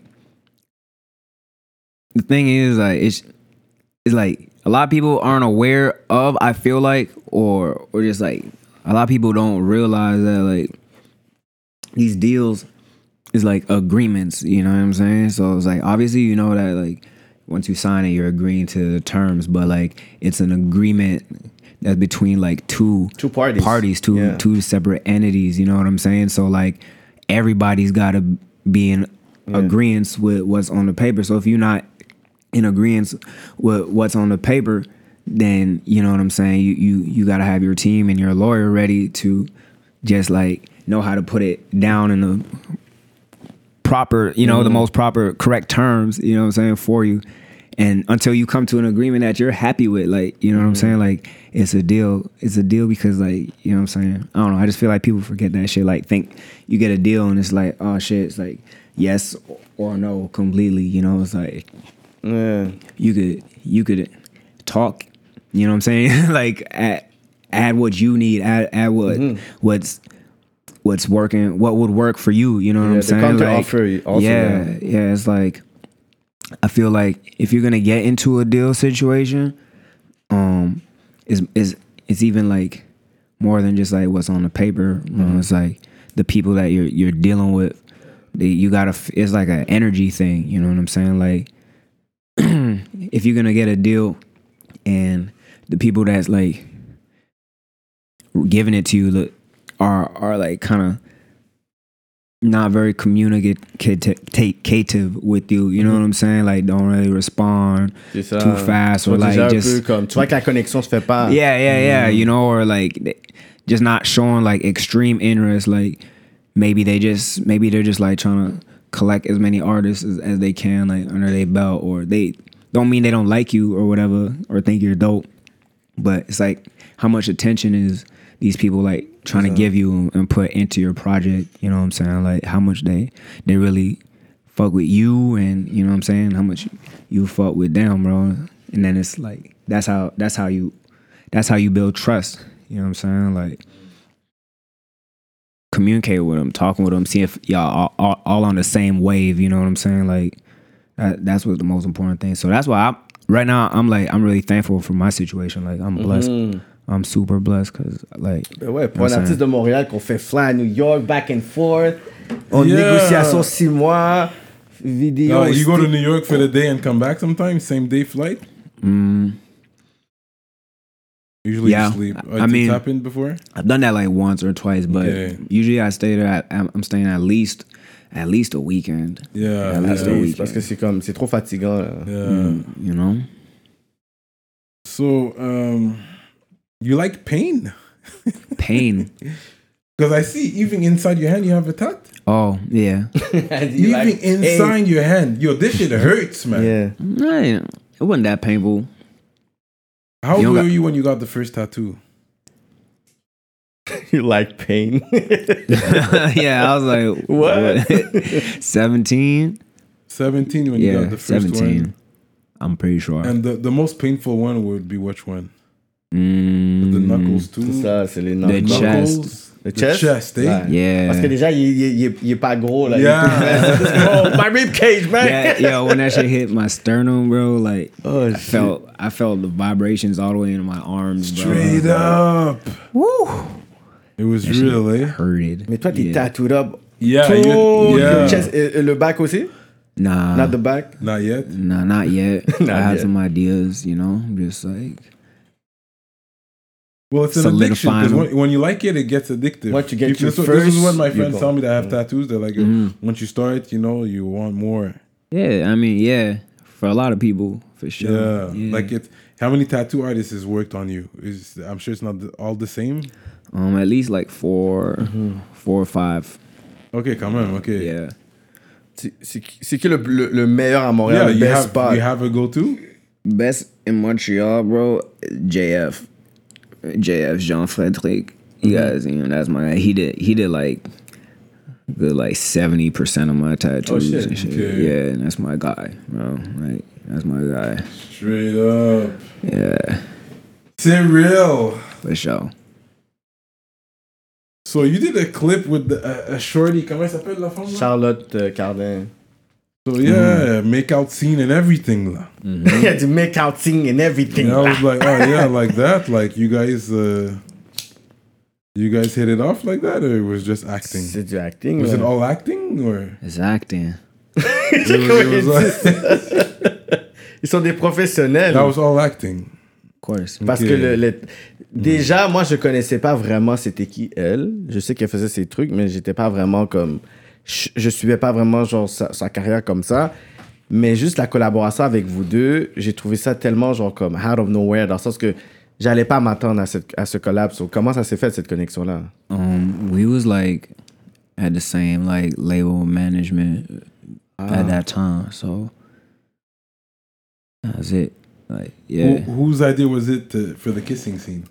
S5: the thing is like it's it's like a lot of people aren't aware of. I feel like or or just like a lot of people don't realize that like these deals is like agreements. You know what I'm saying? So it's like obviously you know that like once you sign it, you're agreeing to the terms, but like it's an agreement that's between like two
S4: Two parties.
S5: parties, two
S4: Yeah.
S5: two separate entities. You know what I'm saying? So like everybody's got to be in agreement with what's on the paper. So if you're not in agreement with what's on the paper, then you know what I'm saying. You you you got to have your team and your lawyer ready to just like know how to put it down in the proper, you know, the most proper, correct terms. You know what I'm saying for you. And until you come to an agreement that you're happy with, like, you know what I'm saying? Like, it's a deal. It's a deal because, like, you know what I'm saying? I don't know. I just feel like people forget that shit. Like, think you get a deal and it's like, oh, shit. It's like, yes or no completely. You know, it's like,
S4: Yeah.
S5: you could, you could talk, you know what I'm saying? Like, add, add what you need, add, add what, what's, what's working, what would work for you. You know what
S4: Yeah,
S5: I'm
S4: the
S5: saying?
S4: counter
S5: Like,
S4: offer also,
S5: yeah,
S4: yeah.
S5: yeah. It's like, I feel like if you're gonna get into a deal situation, um, is is it's even like more than just like what's on the paper. You know, it's like the people that you're you're dealing with. They, you gotta. f- It's like an energy thing. You know what I'm saying? Like, if you're gonna get a deal, and the people that's like giving it to you look, are are like kind of not very communicative with you, you know what I'm saying? Like, don't really respond
S4: C'est ça.
S5: too fast
S4: Tu
S5: or
S4: vois
S5: like
S4: déjà un
S5: just
S4: peu comme, tu vois que la connexion se fait pas.
S5: yeah, yeah, yeah, you know, or like they- just not showing like extreme interest. Like maybe they just maybe they're just like trying to collect as many artists as, as they can like under their belt, or they don't mean they don't like you or whatever or think you're dope, but it's like how much attention is these people like trying to give you and put into your project, you know what I'm saying? Like how much they they really fuck with you, and you know what I'm saying, how much you fuck with them, bro. And then it's like that's how that's how you that's how you build trust, you know what I'm saying? Like communicate with them, talking with them, see if y'all all, all, all on the same wave, you know what I'm saying? Like that, that's what's the most important thing. So that's why I right now I'm like I'm really thankful for my situation. Like I'm blessed. I'm super blessed because like
S4: Ben ouais, pour
S5: you know
S4: un
S5: what I'm
S4: artiste de Montréal qu'on fait fly à New York, back and forth, en
S3: Yeah.
S4: négociation six mois, vidéo.
S3: No, you go to
S4: sti-
S3: New York for the day and come back sometimes, same day flight.
S5: Mm,
S3: Usually
S5: Yeah,
S3: you sleep.
S5: I-
S3: Uh,
S5: I
S3: it's
S5: mean-
S3: happened before.
S5: I've done that like once or twice, but
S3: Okay.
S5: usually I stay there. At, I'm I'm staying at least at least a weekend.
S3: Yeah,
S5: At least
S3: yeah.
S5: a
S4: Oui,
S5: week.
S4: parce que c'est comme, c'est trop fatigant. Là.
S3: yeah.
S5: Mm, you know.
S3: So, um, you like pain?
S5: Pain.
S3: Because I see even inside your hand you have a tat.
S5: Oh yeah.
S3: Even
S4: like,
S3: inside your hand, yo, this shit hurts, man.
S4: Yeah.
S5: Nah, it wasn't that painful.
S3: How
S5: You
S3: old
S5: don't
S3: were
S5: got-
S3: you when you got the first tattoo?
S4: You like pain.
S5: Yeah, I was like,
S4: What?
S5: seventeen?
S3: Seventeen when you
S5: Yeah,
S3: got the first
S5: seventeen.
S3: one.
S5: I'm pretty sure.
S3: And the, the most painful one would be which one?
S5: Mm,
S3: The knuckles too.
S4: C'est ça, c'est les
S5: The
S4: knuckles.
S5: chest.
S3: Knuckles.
S4: Le
S3: The
S4: chest?
S3: chest, eh?
S4: Ouais.
S5: Yeah.
S4: Parce que déjà, il, il, il, il est pas gros. Là.
S3: Yeah.
S4: Oh, my rib cage, man.
S5: Yeah, yo, when that shit hit my sternum, bro, like
S4: Oh,
S5: I
S4: shit.
S5: felt I felt the vibrations all the way into my arms, bro.
S3: Straight up.
S5: Woo.
S3: It was
S5: That shit
S3: real, eh?
S5: hurted.
S4: Mais toi, t'es
S5: yeah.
S4: tattooed up.
S3: Yeah,
S4: Tout
S3: you- yeah.
S4: le chest, et, et le back aussi?
S5: Nah,
S4: Not the back?
S3: Not yet.
S5: nah, not yet.
S4: Not
S5: I had
S4: yet.
S5: some ideas, you know, just like
S3: Well, it's an addiction
S5: Solidifying
S3: because
S5: them.
S3: when, when you like it, it gets addictive.
S4: Once you get
S3: If
S4: your
S3: this, is what- this is
S4: first,
S3: what my
S4: you
S3: friends
S4: go.
S3: tell me that have tattoos. They're like,
S5: Mhm.
S3: once you start, you know, you want more.
S5: yeah. I mean, yeah, for a lot of people, for sure.
S3: Yeah.
S5: Yeah.
S3: Like it, How many tattoo artists has worked on you? Is I'm sure it's not the, all the same.
S5: Um, at least like four,
S4: Mm-hmm.
S5: four or five.
S3: Okay, quand même. Okay.
S5: Yeah.
S4: C'est- C'est qui c'est qui le, le, le meilleur à Montréal,
S3: Yeah,
S4: le
S3: you
S4: best
S3: have
S4: spot?
S3: you have a go-to.
S5: Best in Montreal, bro. J F, J F Jean Frederic. You guys, you know, that's my guy. He did, he did like good like seventy percent of my tattoos
S4: Oh, shit.
S5: and shit.
S3: Okay.
S5: Yeah, and that's my guy, bro. Like that's my guy.
S3: Straight up.
S5: Yeah,
S3: C'est real.
S5: for sure.
S3: So you did a clip with the, uh, a shorty. Comment elle s'appelle la femme là?
S4: Charlotte euh, Cardin.
S3: So yeah, make out scene and everything là.
S4: Il y a du make-outing and everything.
S3: And I was like, oh yeah, like that. Like you guys, uh, you guys hit it off like that, or it was just acting?
S4: C'est du acting.
S3: Was
S4: là.
S3: it all acting or?
S5: It's acting.
S3: It was, it was like-
S4: Ils sont des professionnels.
S3: that was all acting.
S5: Of course.
S4: Parce
S3: Ok.
S4: que le, le- déjà, moi, je connaissais pas vraiment c'était qui elle. Je sais qu'elle faisait ses trucs, mais j'étais pas vraiment comme. Je, je suivais pas vraiment genre sa, sa carrière comme ça. Mais juste la collaboration avec vous deux, j'ai trouvé ça tellement genre comme out of nowhere, dans le sens que j'allais pas m'attendre à, cette, à ce collab. So, comment ça s'est fait cette connexion-là?
S5: Um, we was like at the same like label management at that time, so that's it. Like, yeah.
S3: Who, whose idea was it to, for the kissing scene?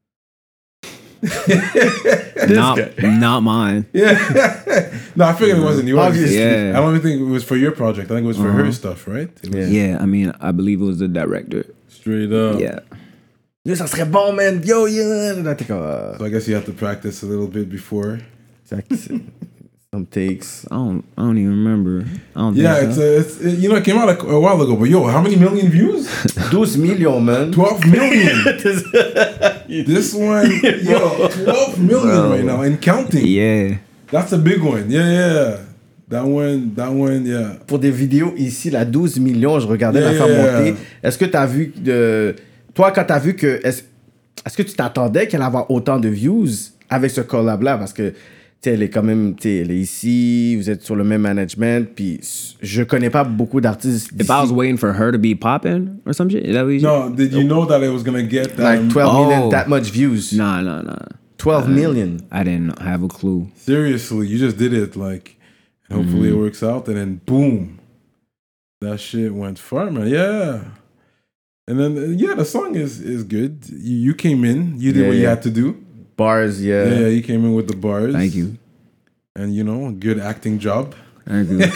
S5: not, not mine.
S3: Yeah. No, I figured it wasn't yours.
S4: Obviously.
S5: Yeah.
S3: I don't even think it was for your project. I think it was for her stuff, right? It was
S5: Yeah, I mean, I believe it was the director.
S3: Straight up.
S5: Yeah.
S4: Yo, ça serait bon, man. Yo, yo. Là, t'es comme. euh,
S3: So I guess you have to practice a little bit before.
S4: c'est- c'est- Some takes.
S5: I don't, I don't even remember. I don't
S3: Yeah,
S5: think
S3: it's,
S5: so.
S3: a, it's it, you know, it came out like a while ago, but yo, how many million views?
S4: douze millions, man.
S3: twelve million. This one, yo, twelve million right now and counting.
S5: Yeah.
S3: That's a big one. Yeah, yeah. That one, that one, yeah.
S4: Pour des vidéos ici, là, douze millions, je regardais
S3: Yeah,
S4: la femme
S3: yeah,
S4: monter. Est-ce que tu as vu de. Toi, quand tu as vu que. Est-ce est-ce que tu t'attendais qu'elle allait avoir autant de views avec ce collab-là? Parce que, tu sais, elle est quand même. Tu sais, elle est ici, vous êtes sur le même management, puis je connais pas beaucoup d'artistes.
S5: If I was waiting for her to be popping or some shit, is that what you
S3: No, did you know that I was gonna get
S4: Like
S3: um,
S4: twelve million,
S5: Oh.
S4: that much views.
S5: Nah, nah, nah.
S4: twelve million.
S5: I didn't have a clue.
S3: Seriously, you just did it, like, and hopefully it works out, and then boom, that shit went far, man. Yeah, and then uh, yeah, the song is is good. You, you came in, you did
S4: Yeah,
S3: what you
S4: yeah.
S3: had to do.
S4: Bars, yeah.
S3: Yeah, yeah, you came in with the bars.
S5: Thank you.
S3: And you know, good acting job.
S5: Thank you.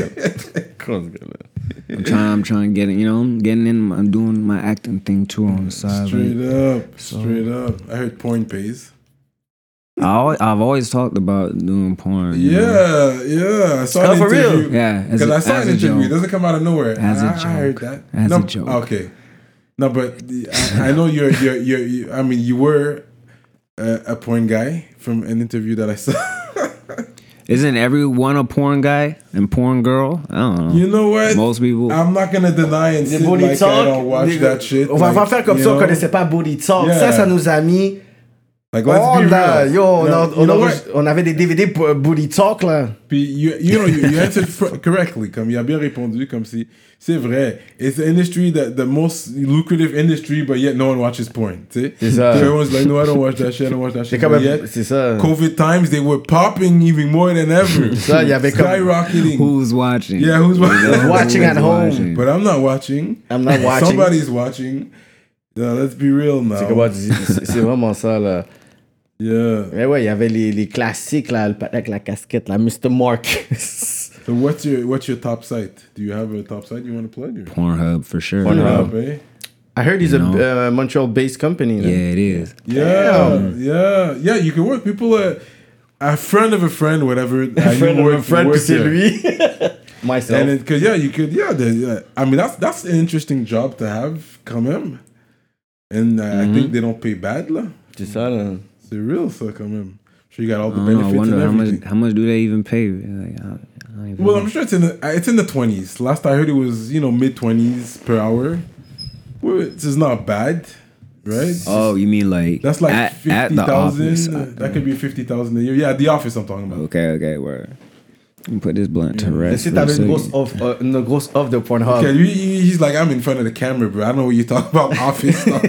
S5: I'm trying. I'm trying to get it. You know, I'm getting in. I'm doing my acting thing too on the side.
S3: Straight
S5: like,
S3: up, straight up. I heard porn pays.
S5: I always, I've always talked about doing porn. you know?
S3: Yeah, yeah. I saw
S4: Oh,
S3: an
S4: for real?
S3: interview.
S5: Yeah, as
S3: Because
S5: a-
S3: I saw
S5: as
S3: an
S5: a
S3: interview. It
S5: joke.
S3: doesn't come out of nowhere.
S5: As a
S3: I, I heard
S5: joke.
S3: that.
S5: As
S3: no,
S5: a joke.
S3: Okay. No, but I, I know you're, you're, you're, you I mean, you were a, a porn guy from an interview that I saw.
S5: Isn't everyone a porn guy and porn girl? I don't know.
S3: You know what?
S5: Most people.
S3: I'm not gonna deny and
S4: Des
S3: sit
S4: booty
S3: like
S4: talk.
S3: I don't watch
S4: des-
S3: that shit.
S4: On va
S3: like,
S4: pas faire comme
S3: you
S4: ça, on
S3: know?
S4: connaissait pas Booty Talk.
S3: Yeah.
S4: Ça, ça nous a mis.
S3: Like, let's
S4: Oh
S3: be
S4: là,
S3: real.
S4: yo, on,
S3: No,
S4: a-
S3: you
S4: on,
S3: know
S4: a-
S3: what?
S4: on avait des D V D pour euh, Booty Talk, là.
S3: Puis, you, you know, you, you answered fr- correctly. Comme il a bien répondu, comme si c'est vrai. It's the industry that the most lucrative industry, but yet no one watches porn. Tu sais?
S4: C'est ça.
S3: So everyone's like, no, I don't watch that shit. I don't watch that
S4: C'est
S3: shit.
S4: quand
S3: But
S4: même.
S3: yet,
S4: C'est ça.
S3: COVID times, they were popping even more than ever.
S4: Ça, il y avait comme.
S3: Skyrocketing.
S5: Who's watching?
S3: Yeah, who's watching?
S4: Watching at
S5: Who's
S4: home.
S5: watching?
S3: But I'm not watching.
S4: I'm not watching.
S3: Somebody's watching. Yeah, let's be real now.
S4: C'est comment tu dis- c'est c'est vraiment ça, là.
S3: Yeah.
S4: Mais ouais, il y avait les, les classiques, là, le patin avec la casquette, là, mister Marcus.
S3: So what's your what's your top site? Do you have a top site you want to plug? Or?
S5: Pornhub for sure.
S4: Pornhub.
S3: eh?
S4: I heard he's a
S5: No.
S4: uh, Montreal-based company.
S5: Yeah,
S4: Là.
S5: it is.
S3: Yeah, yeah, yeah. You can work. People, uh, a friend of a friend, whatever.
S4: A friend of a friend, puis c'est lui. Myself.
S3: And because yeah, you could yeah, the, yeah. I mean that's that's an interesting job to have, quand même. And uh, I think they don't pay bad là.
S4: C'est ça, là.
S3: C'est real ça quand même. Sure, you got all the
S5: I, don't know, I
S3: benefits
S5: wonder
S3: and
S5: how much
S3: everything.
S5: how much do they even pay? Like, I, I don't even
S3: Well,
S5: know.
S3: I'm sure it's in the uh, it's in the twenties. Last I heard it was you know mid twenties per hour, which is not bad, right?
S5: Oh, you mean like
S3: That's like
S5: at, at
S3: fifty
S5: the office?
S3: thousand. That could be fifty thousand a year. Yeah, the office I'm talking about.
S5: Okay, okay, word. Let me put this blunt to rest.
S4: Si
S5: for a
S4: t'avais une
S5: second.
S4: grosse off, uh, une grosse off de Pornhub.
S3: Okay, he, he- he's like, I'm in front of the camera, bro. I don't know what you talk about office stuff.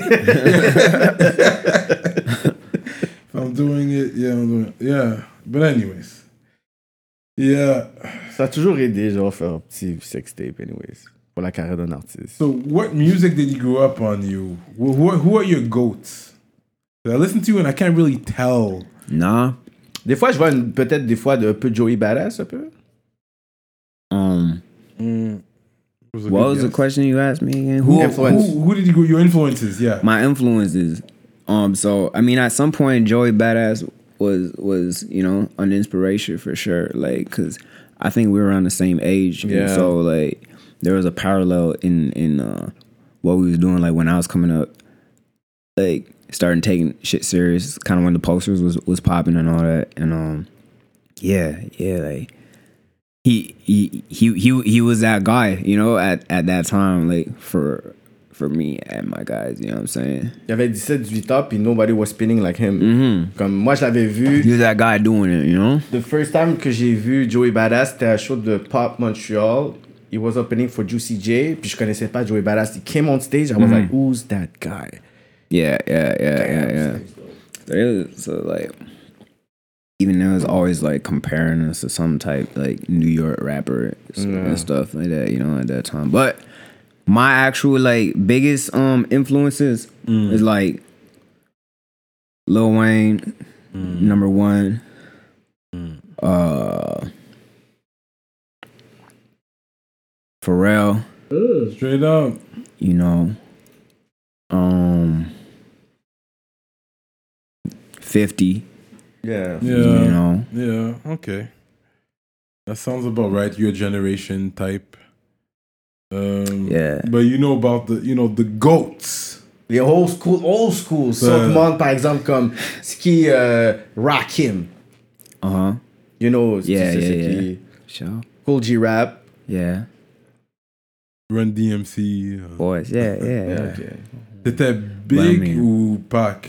S3: If I'm doing it, yeah, I'm doing it. Yeah. But anyways. Yeah.
S4: Ça a toujours aidé, genre, faire un petit sextape, anyways. Pour la carrière d'un artiste.
S3: So what music did you grow up on you? Who, who, are- who are your goats? I listen to you and I can't really tell.
S5: Nah.
S4: Des fois, je vois une- peut-être des fois de, un peu Joey Badass, un peu.
S5: Um.
S3: Was a
S5: What
S3: good
S5: was the
S3: guess.
S5: question you asked me again?
S3: Who,
S4: Influence.
S3: who, who did you go? Your influences, yeah.
S5: My influences. Um. So I mean, at some point, Joey Badass was was you know an inspiration for sure. Like, cause I think we were around the same age. and
S4: Yeah.
S5: So like, there was a parallel in in uh, what we was doing. Like when I was coming up, like starting taking shit serious. Kind of when the posters was was popping and all that. And um, yeah, yeah, like. He, he he he he was that guy, you know, at, at that time, like for for me and my guys, you know what I'm saying?
S4: Il avait dix-sept dix-huit ans, puis nobody was spinning like him.
S5: Mm-hmm.
S4: Comme moi, je l'avais vu.
S5: He was that guy doing it, you know?
S4: The first time que j'ai vu Joey Badass, c'était à un show de Pop Montreal. He was opening for Juicy J, puis je connaissais pas Joey Badass. He came on stage, I was like, who's that guy?
S5: Yeah, yeah, yeah, yeah, yeah. So, it was, so like, even there was always like comparing us to some type like New York rapper and stuff like that, you know, at that time. But my actual like biggest um influences is like Lil Wayne, number one. Uh, Pharrell,
S3: Straight up.
S5: you know. Um, fifty.
S4: Yeah.
S3: Yeah.
S5: You know.
S3: Yeah, okay. That sounds about right. Your generation type. Um,
S5: Yeah.
S3: But you know about the, you know, the goats.
S4: Les old school, old school. Sauf
S3: Euh.
S4: monde, par exemple, comme ce qui euh, Rakim.
S5: Uh huh.
S4: You know,
S5: Yeah,
S4: c'est
S5: yeah,
S4: ce
S5: yeah.
S4: qui
S5: Sure.
S4: Cool G Rap.
S5: Yeah.
S3: Run D M C. uh,
S5: Boys. Yeah, yeah, yeah.
S4: Yeah, okay.
S3: C'était big
S5: I mean-
S3: ou Pac?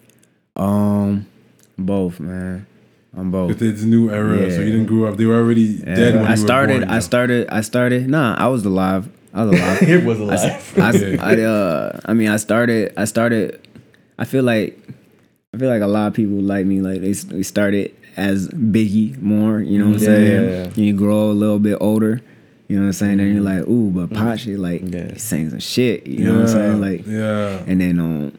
S5: Um, both, man. I'm both.
S3: C'était the new era,
S5: Yeah.
S3: so you didn't grow up. They were already
S5: Yeah,
S3: dead when
S5: I
S3: you
S5: started.
S3: were born.
S5: I started. I started. Nah, I was alive. I was alive.
S4: It was
S5: I,
S4: alive.
S5: I,
S3: Okay.
S5: I, uh, I mean, I started. I started. I feel like. I feel like a lot of people like me. Like they, they started as Biggie more. You know what I'm
S4: Yeah,
S5: saying?
S4: yeah, yeah.
S5: And you grow a little bit older. You know what I'm saying? Then you're like, ooh, but Pachi, like,
S4: Yeah.
S5: he sang some shit. You know what I'm saying? Like,
S3: yeah.
S5: and then um,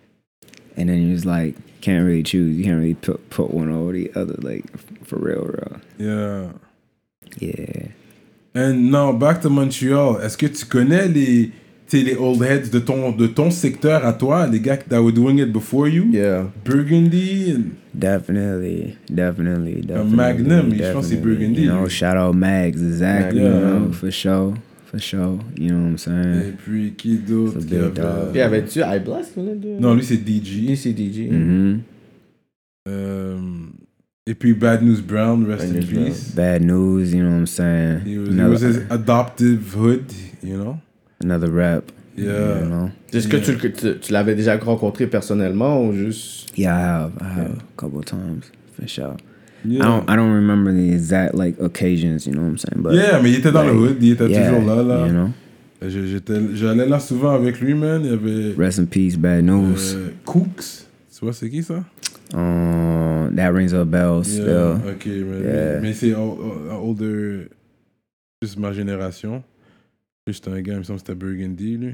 S5: and then you're just like, can't really choose. You can't really put put one over the other. Like, for real, real.
S3: Yeah.
S5: Yeah.
S3: And now, back to Montreal. Est-ce que tu connais les, tu sais, les old heads de ton, de ton secteur à toi, les gars that were doing it before you?
S4: Yeah.
S3: Burgundy and
S5: Definitely, definitely, definitely.
S3: Magnum, je pense que c'est
S5: definitely.
S3: Burgundy,
S5: You know,
S3: lui.
S5: shout out Mags, exactly.
S3: Yeah.
S5: You know, for sure, for sure. You know what I'm saying?
S3: et puis qui d'autre?
S5: C'est
S3: qui
S5: big
S3: avait-
S5: dog.
S4: Puis avais-tu I Blast qu'on a de...
S3: Non, lui c'est D G.
S4: Lui, c'est D J.
S5: Mm-hmm.
S3: Euh, et puis Bad News Brown, rest
S4: Bad
S3: in
S4: News Brown.
S3: peace.
S5: Bad news. You know what I'm saying?
S3: He was, he
S5: another,
S3: was his adoptive hood, you know?
S5: another rap.
S3: Yeah.
S5: You know?
S4: Est-ce que tu, le- tu, tu l'avais déjà rencontré personnellement ou juste...
S5: Yeah, I have. I have a couple of times for sure.
S3: Yeah.
S5: I don't. I don't remember the exact like occasions. You know what I'm saying? But
S3: Yeah, mais il était dans le
S5: like,
S3: hood, il était
S5: yeah,
S3: toujours là, là.
S5: You know.
S3: Je- j'étais- J'allais là souvent avec lui, man. Il y avait
S5: Rest in peace, Bad News.
S3: euh, Cooks. Tu vois, c'est qui ça?
S5: Um, that rings a bell still.
S3: Yeah, ok, mais,
S5: Yeah.
S3: mais c'est ol- ol- older, juste ma génération. Juste un gars, il me semble que c'était Burgundy, lui.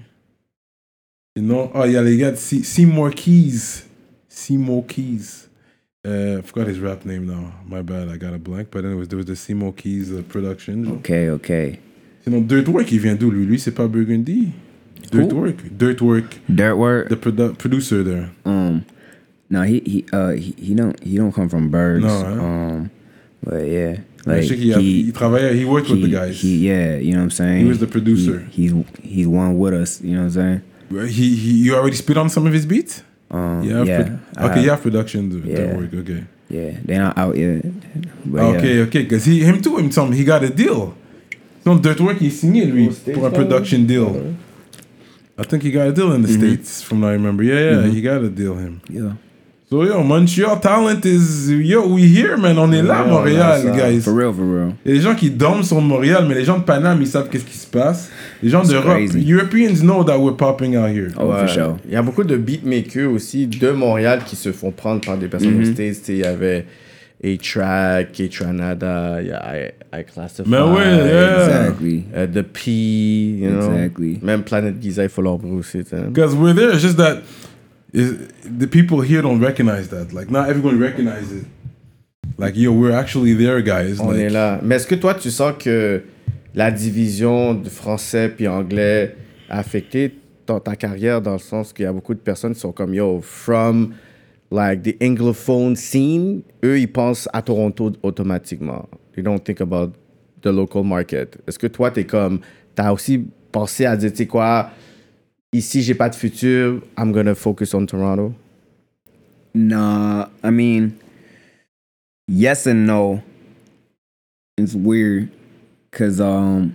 S3: Sinon, ah, il y a les gars de Se- Seymour Keys. Seymour Keys. Uh, I forgot his rap name now. My bad, I got a blank. But anyways, there was the Seymour Keys uh, production.
S5: Okay, okay.
S3: Sinon, Dirtwork, il vient d'où, lui? Lui, c'est pas Burgundy. Dirtwork. Dirtwork.
S5: Dirtwork.
S3: The produ- producer there.
S5: Um, no, he he uh he, he don't he don't come from Bergs.
S3: No, huh?
S5: Um, but yeah,
S3: I
S5: like
S3: think he, he, he, travaillait, he worked with the
S5: he-
S3: guys.
S5: He, yeah, you know what I'm saying.
S3: He was the producer.
S5: He, he's he's one with us. You know what I'm saying.
S3: He, he, you already spit on some of his beats?
S5: Um,
S3: Yeah.
S5: yeah.
S3: pro-
S5: I
S3: okay,
S5: have-
S3: you have production to,
S5: Yeah.
S3: to work. Okay.
S5: Yeah, they're not out yet. But
S3: Okay,
S5: yeah.
S3: okay. Because he, him too, him some, he got a deal. Non, Dirtwork, il signé, lui,
S4: Aux States,
S3: pour un
S4: là?
S3: production deal. I think he got a deal in the
S5: Mm-hmm.
S3: States, from what I remember. Yeah, yeah, he got a deal, him.
S5: Yeah.
S3: So, So yo, Montreal talent is yo, we here man, on est là à
S4: Yeah,
S3: Montréal,
S4: on a ça.
S3: guys.
S5: For real, for real.
S3: Il y a des gens qui dorment sur Montréal, mais les gens de Paname, ils savent qu'est-ce qui se passe. Les gens
S5: It's
S3: d'Europe,
S5: crazy.
S3: Europeans know that we're popping out here.
S5: Oh,
S4: Ouais.
S5: for sure.
S4: Il y a beaucoup de beatmakers aussi de Montréal qui se font prendre par des personnes
S5: Mm-hmm.
S4: aux States. Tu sais, il y avait A-Track, K-Tranada, il y a I, I Classify.
S3: Mais ouais, yeah.
S5: Exactly.
S4: euh, The P, you know.
S5: Exactly.
S4: Même Planet Giza, il faut leur brosser, tu sais.
S3: Because we're there, it's just that is the people here don't recognize that. Like, not everyone recognizes it. Like, yo, we're actually there, guys.
S4: On
S3: like,
S4: est là. Mais est-ce que toi, tu sens que la division de français puis anglais a affecté ton, ta carrière dans le sens qu'il y a beaucoup de personnes qui sont comme, yo, from like the anglophone scene, eux, ils pensent à Toronto automatiquement. They don't think about the local market. Est-ce que toi, t'es comme, t'as aussi pensé à dire, tu sais quoi, ici, j'ai pas de futur, I'm gonna focus on Toronto?
S5: Nah, I mean, yes and no. It's weird, cause um,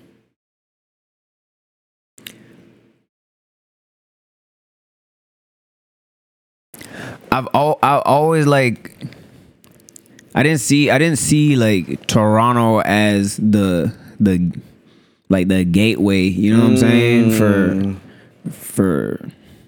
S5: I've al- I always like. I didn't see I didn't see like Toronto as the the like the gateway. You know what I'm saying for for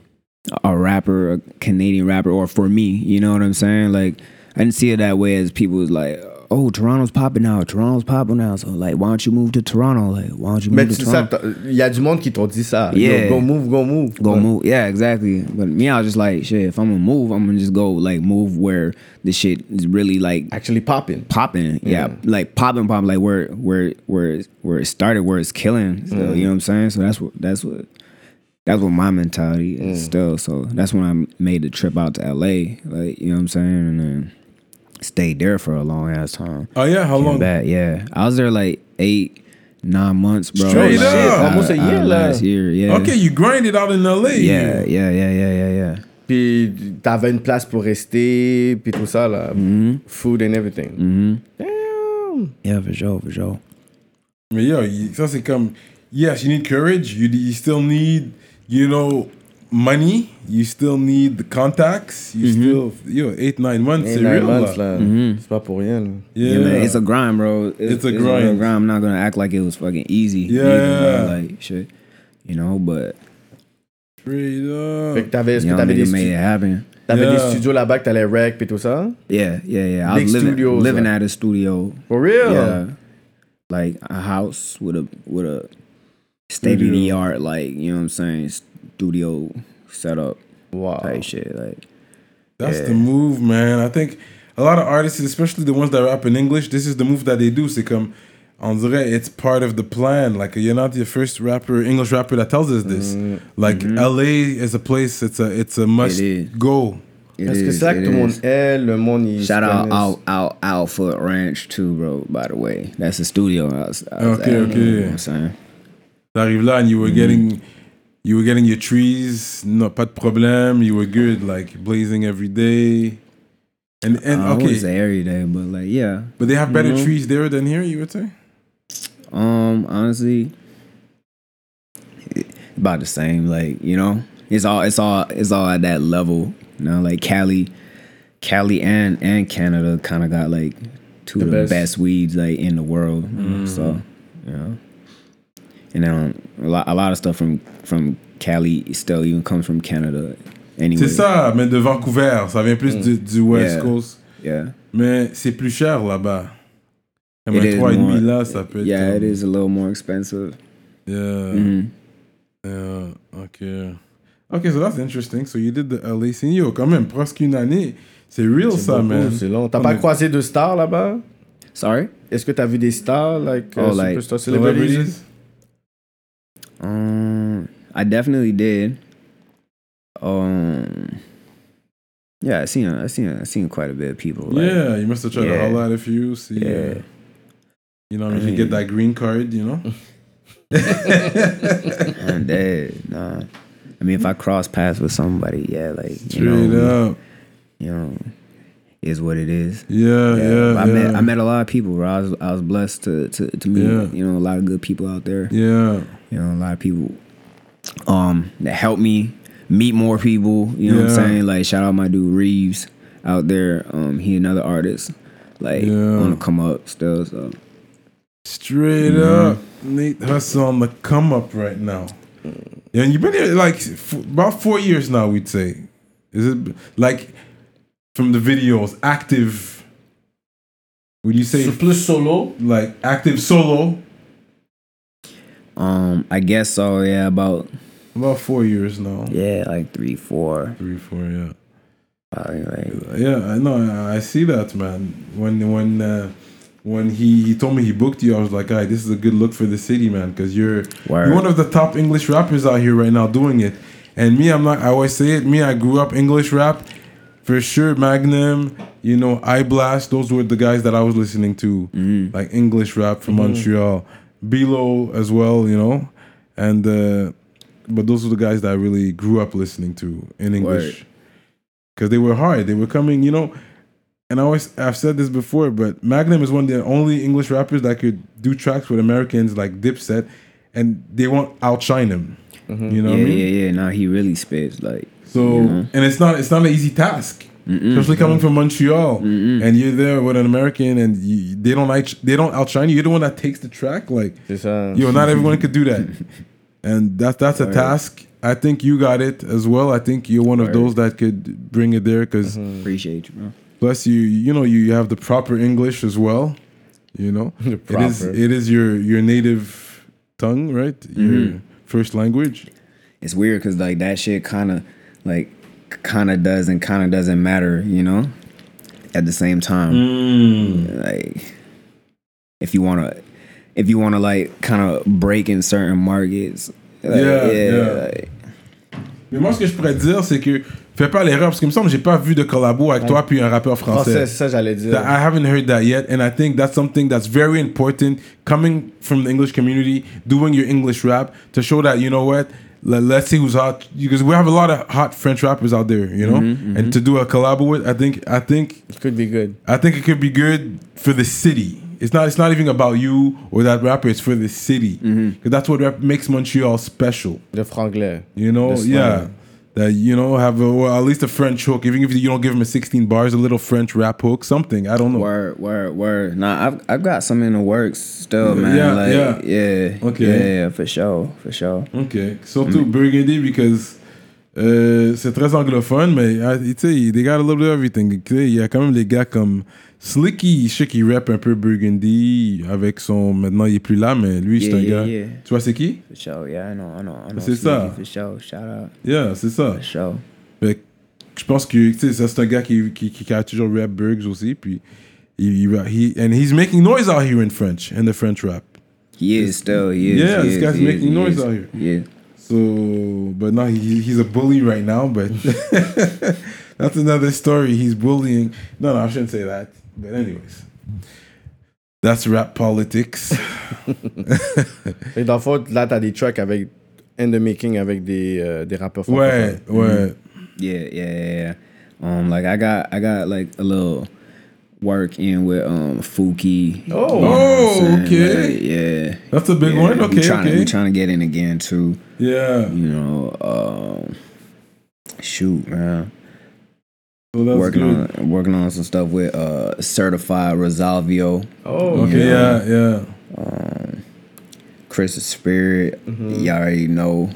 S5: a rapper, a Canadian rapper, or for me, you know what I'm saying? Like, I didn't see it that way as people was like, oh, Toronto's popping now, Toronto's popping now, so like, why don't you move to Toronto? Like, why don't you move
S4: Mais
S5: to
S4: tu sais,
S5: Toronto?
S4: il y a du monde qui t'ont dit ça.
S5: Yeah.
S4: Yo, go move, go move.
S5: Go
S4: Ouais.
S5: move, yeah, exactly. But me, I was just like, shit, if I'm gonna move, I'm gonna just go like move where the shit is really like
S4: Actually popping.
S5: popping, yeah,
S4: Yeah.
S5: like popping, popping, like where where where where it started, where it's killing. So, you know what I'm saying? So that's what that's what that's what my mentality is still. So that's when I made the trip out to L A, like you know what I'm saying, and then stayed there for a long ass time.
S3: oh yeah, how
S5: Came
S3: long?
S5: back, yeah, I was there like eight, nine months, bro.
S3: Straight
S5: Like,
S3: up.
S5: uh,
S4: Almost a year,
S5: uh,
S4: là.
S5: last year, yeah.
S3: Okay, you grinded out in L A.
S5: Yeah, yeah, yeah, yeah, yeah, yeah.
S4: Puis t'avais une place pour rester, puis tout ça, là. Food and everything.
S5: Mm-hmm.
S4: Damn.
S5: Yeah, for sure, for sure.
S3: Mais yo, you- ça c'est comme, yes, you need courage. You, you still need, you know, money. You still need the contacts. You still, yo, eight, nine months,
S4: Hey,
S3: c'est
S4: nine
S3: real
S4: months,
S3: là.
S4: là. C'est pas pour rien, là.
S3: Yeah,
S5: Yeah, man, it's a grind, bro.
S3: It's a
S5: real
S3: grind.
S5: grind. I'm not gonna act like it was fucking easy.
S3: Yeah,
S5: either,
S3: yeah.
S5: bro. Like shit, you know. But
S3: straight
S4: Fait que
S3: up.
S4: t'avais, est-ce que
S5: young
S4: t'avais, des,
S5: nigga made
S4: stu-
S5: it happen.
S4: t'avais
S3: Yeah.
S4: des studios là-bas que t'allais rec, puis tout ça?
S5: Yeah, yeah, yeah. I
S4: Big
S5: was living,
S4: studios,
S5: living
S4: like-
S5: at a studio.
S4: For real?
S5: Yeah, like a house with a with a state of the art, like you know what I'm saying, studio setup
S4: Wow.
S5: type shit. Like
S3: That's the move, man. I think a lot of artists, especially the ones that rap in English, this is the move that they do. C'est comme, on dirait, it's part of the plan. Like, you're not the first rapper, English rapper that tells us this. Like, L A is a place, it's a, it's a must
S5: It is.
S3: go.
S5: it
S4: Est-ce que
S5: is,
S4: c'est là que
S5: it
S4: tout le monde
S5: is.
S4: est, le monde, il
S5: Shout
S4: se
S5: out
S4: connaisse?
S5: Al, Al, Al Foot Ranch too, bro. By the way, that's the studio. I was, I was
S3: Okay,
S5: at,
S3: okay.
S5: You know what I'm saying?
S3: T'arrives là and you were getting, you were getting your trees, no, pas de problème, you were good, like, blazing every day. And, and
S5: I wouldn't
S3: okay,
S5: say every day, but like yeah.
S3: but they have better
S5: Mhm.
S3: trees there than here, you would say?
S5: Um, honestly, about the same. Like you know, it's all it's all it's all at that level. You know, like Cali, Cali and and Canada kind of got like two
S4: The
S5: of the
S4: best.
S5: best. weeds like in the world. So you know, and then a lot a lot of stuff from from Cali still even comes from Canada. Anyway,
S3: C'est ça, mais de Vancouver, ça vient plus du, du West
S5: Yeah.
S3: Coast.
S5: Yeah,
S3: Mais c'est plus cher là-bas. Comme
S5: It
S3: un
S5: is
S3: trois
S5: more-
S3: virgule cinq là, ça peut être.
S5: yeah,
S3: comme-
S5: it is a little more expensive.
S3: Yeah.
S5: Mhm.
S3: Yeah. Okay. Okay, so that's interesting. So you did the L A scene. Yo, quand même, presque une année. C'est real
S4: C'est
S3: ça,
S4: beaucoup,
S3: man.
S4: c'est long. T'as
S3: On
S4: pas
S3: est-
S4: croisé de stars là-bas?
S5: Sorry.
S4: Est-ce que t'as vu des stars, like,
S5: Oh,
S4: uh,
S5: like
S4: superstar celebrities?
S3: Celebrities?
S5: Um, I definitely did. Um, yeah, I seen, I seen, I seen quite a bit of people. Like,
S3: Yeah, you must have tried to
S5: Yeah.
S3: holler at a few. See,
S5: Yeah.
S3: uh, you know,
S5: I
S3: if you
S5: mean-
S3: get that green card, you know.
S5: I'm dead. Nah, I mean, if I cross paths with somebody, yeah, like you
S3: Straight
S5: know,
S3: up.
S5: you know, is what it is.
S3: Yeah, yeah,
S5: I
S3: yeah.
S5: met, I met a lot of people. Bro. I was, I was blessed to, to, to meet,
S3: Yeah.
S5: you know, a lot of good people out there.
S3: Yeah.
S5: You know, a lot of people, um, that helped me meet more people. You know what I'm
S3: Yeah.
S5: saying? Like shout out my dude Reeves out there. Um, he another artist. Like
S3: Yeah.
S5: want to come up still. So
S3: Straight
S5: Mm-hmm.
S3: up, Nate Hustle on the come up right now. Yeah, and you've been here like f- about four years now, we'd say. Is it like from the videos, active? Would you say
S4: C'est plus solo.
S3: like active solo?
S5: um, I guess so. Yeah, about
S3: About four years now.
S5: yeah, like three, four.
S3: Three, four, yeah.
S5: Probably like
S3: Yeah, I know. I, I see that, man. When when uh, when he, he told me he booked you, I was like, "Alright, this is a good look for the city, man, because you're
S5: Word.
S3: you're one of the top English rappers out here right now doing it." And me, I'm not. I always say it. Me, I grew up English rap, for sure. Magnum, you know, I Blast. Those were the guys that I was listening to, like English rap from Montreal. Bilo as well, you know, and uh, but those were the guys that I really grew up listening to in English.
S5: Word.
S3: Because they were hard. They were coming, you know. And I always, I've said this before, but Magnum is one of the only English rappers that could do tracks with Americans like Dipset, and they won't outshine him. You know
S5: yeah,
S3: what I mean?
S5: yeah, yeah. Now he really spits like
S3: So,
S5: you know?
S3: and it's not, it's not an easy task, especially coming from Montreal, and you're there with an American, and you, they don't like, they don't outshine you. You're the one that takes the track, like,
S4: C'est ça.
S3: yo, not everyone could do that, and that's that's a task. I think you got it as well. I think you're one of those that could bring it there because
S5: appreciate you, bro.
S3: plus you you know you, you have the proper English as well. You know, it is
S4: proper.
S3: it is your your native tongue, right? Your first language.
S5: It's weird because like that shit kind of like kind of does and kind of doesn't matter, you know. At the same time, like if you wanna if you wanna like kind of break in certain markets, like,
S3: Yeah,
S5: yeah,
S3: yeah.
S5: like,
S3: Mais moi, ce que je pourrais te dire, c'est que fais pas l'erreur parce qu'il me semble que j'ai pas vu de collabo avec toi puis un rappeur
S4: Français,
S3: français.
S4: c'est ça j'allais dire.
S3: That I haven't heard that yet, and I think that's something that's very important coming from the English community, doing your English rap to show that, you know what, let, let's see who's hot, because we have a lot of hot French rappers out there, you know, and to do a collab with, I think, I think,
S4: It could be good.
S3: I think it could be good for the city. It's not, it's not even about you or that rapper. It's for the city, because that's what rap makes Montreal special.
S4: Le franglais.
S3: You know,
S4: The slang.
S3: yeah. That, you know, have a, well, at least a French hook. Even if you don't give him a sixteen bars, a little French rap hook, something. I don't know.
S5: word, word, word. Nah, I've I've got some in the works still, man.
S3: Yeah,
S5: like,
S3: yeah.
S5: yeah,
S3: Okay.
S5: yeah, yeah, for sure, for sure.
S3: Ok. Surtout Burgundy, because euh, c'est très anglophone, mais ah, tu sais, they got a little bit of everything. Tu sais, il y a quand même les gars comme Slicky, je sais qu'il rappe un peu Burgundy avec son. Maintenant, il est plus là, mais lui, c'est
S5: Yeah,
S3: un
S5: yeah,
S3: gars.
S5: yeah.
S3: Tu vois, c'est qui?
S5: For sure, yeah, I know, I know, I know.
S3: C'est
S5: Sneaky,
S3: ça.
S5: For sure, shout out,
S3: Yeah, c'est ça.
S5: for sure.
S3: Fait que je pense que, tu sais, ça, c'est un gars qui, qui, qui a toujours rap Burgs aussi, puis he, he, and he's making noise out here in French, in the French rap.
S5: He is still, he is.
S3: Yeah,
S5: he
S3: this
S5: is,
S3: guy's
S5: he
S3: making
S5: is, he
S3: noise
S5: is.
S3: out here.
S5: Yeah.
S3: So, but now he, he's a bully right now, but that's another story. He's bullying. No, no, I shouldn't say that. But anyways, that's rap politics.
S4: Et dans le fond, là, t'as des tracks avec in the making avec des, euh, des rappeurs
S3: Ouais,
S4: francophones.
S3: ouais.
S5: Yeah, yeah, yeah, yeah. Um, like I got, I got like a little work in with um Fuki.
S4: Oh.
S5: You know what
S3: Oh,
S5: I'm saying?
S3: okay.
S5: Like, yeah.
S3: That's a big
S5: yeah.
S3: one.
S5: We
S3: Okay,
S5: trying,
S3: okay.
S5: We trying to get in again too.
S3: Yeah.
S5: You know, um, shoot, man.
S3: So that's
S5: working
S3: good.
S5: on working on some stuff with uh Certified Rosalvio,
S4: Oh,
S3: Okay, yeah, yeah.
S5: Chris Spirit. You already know.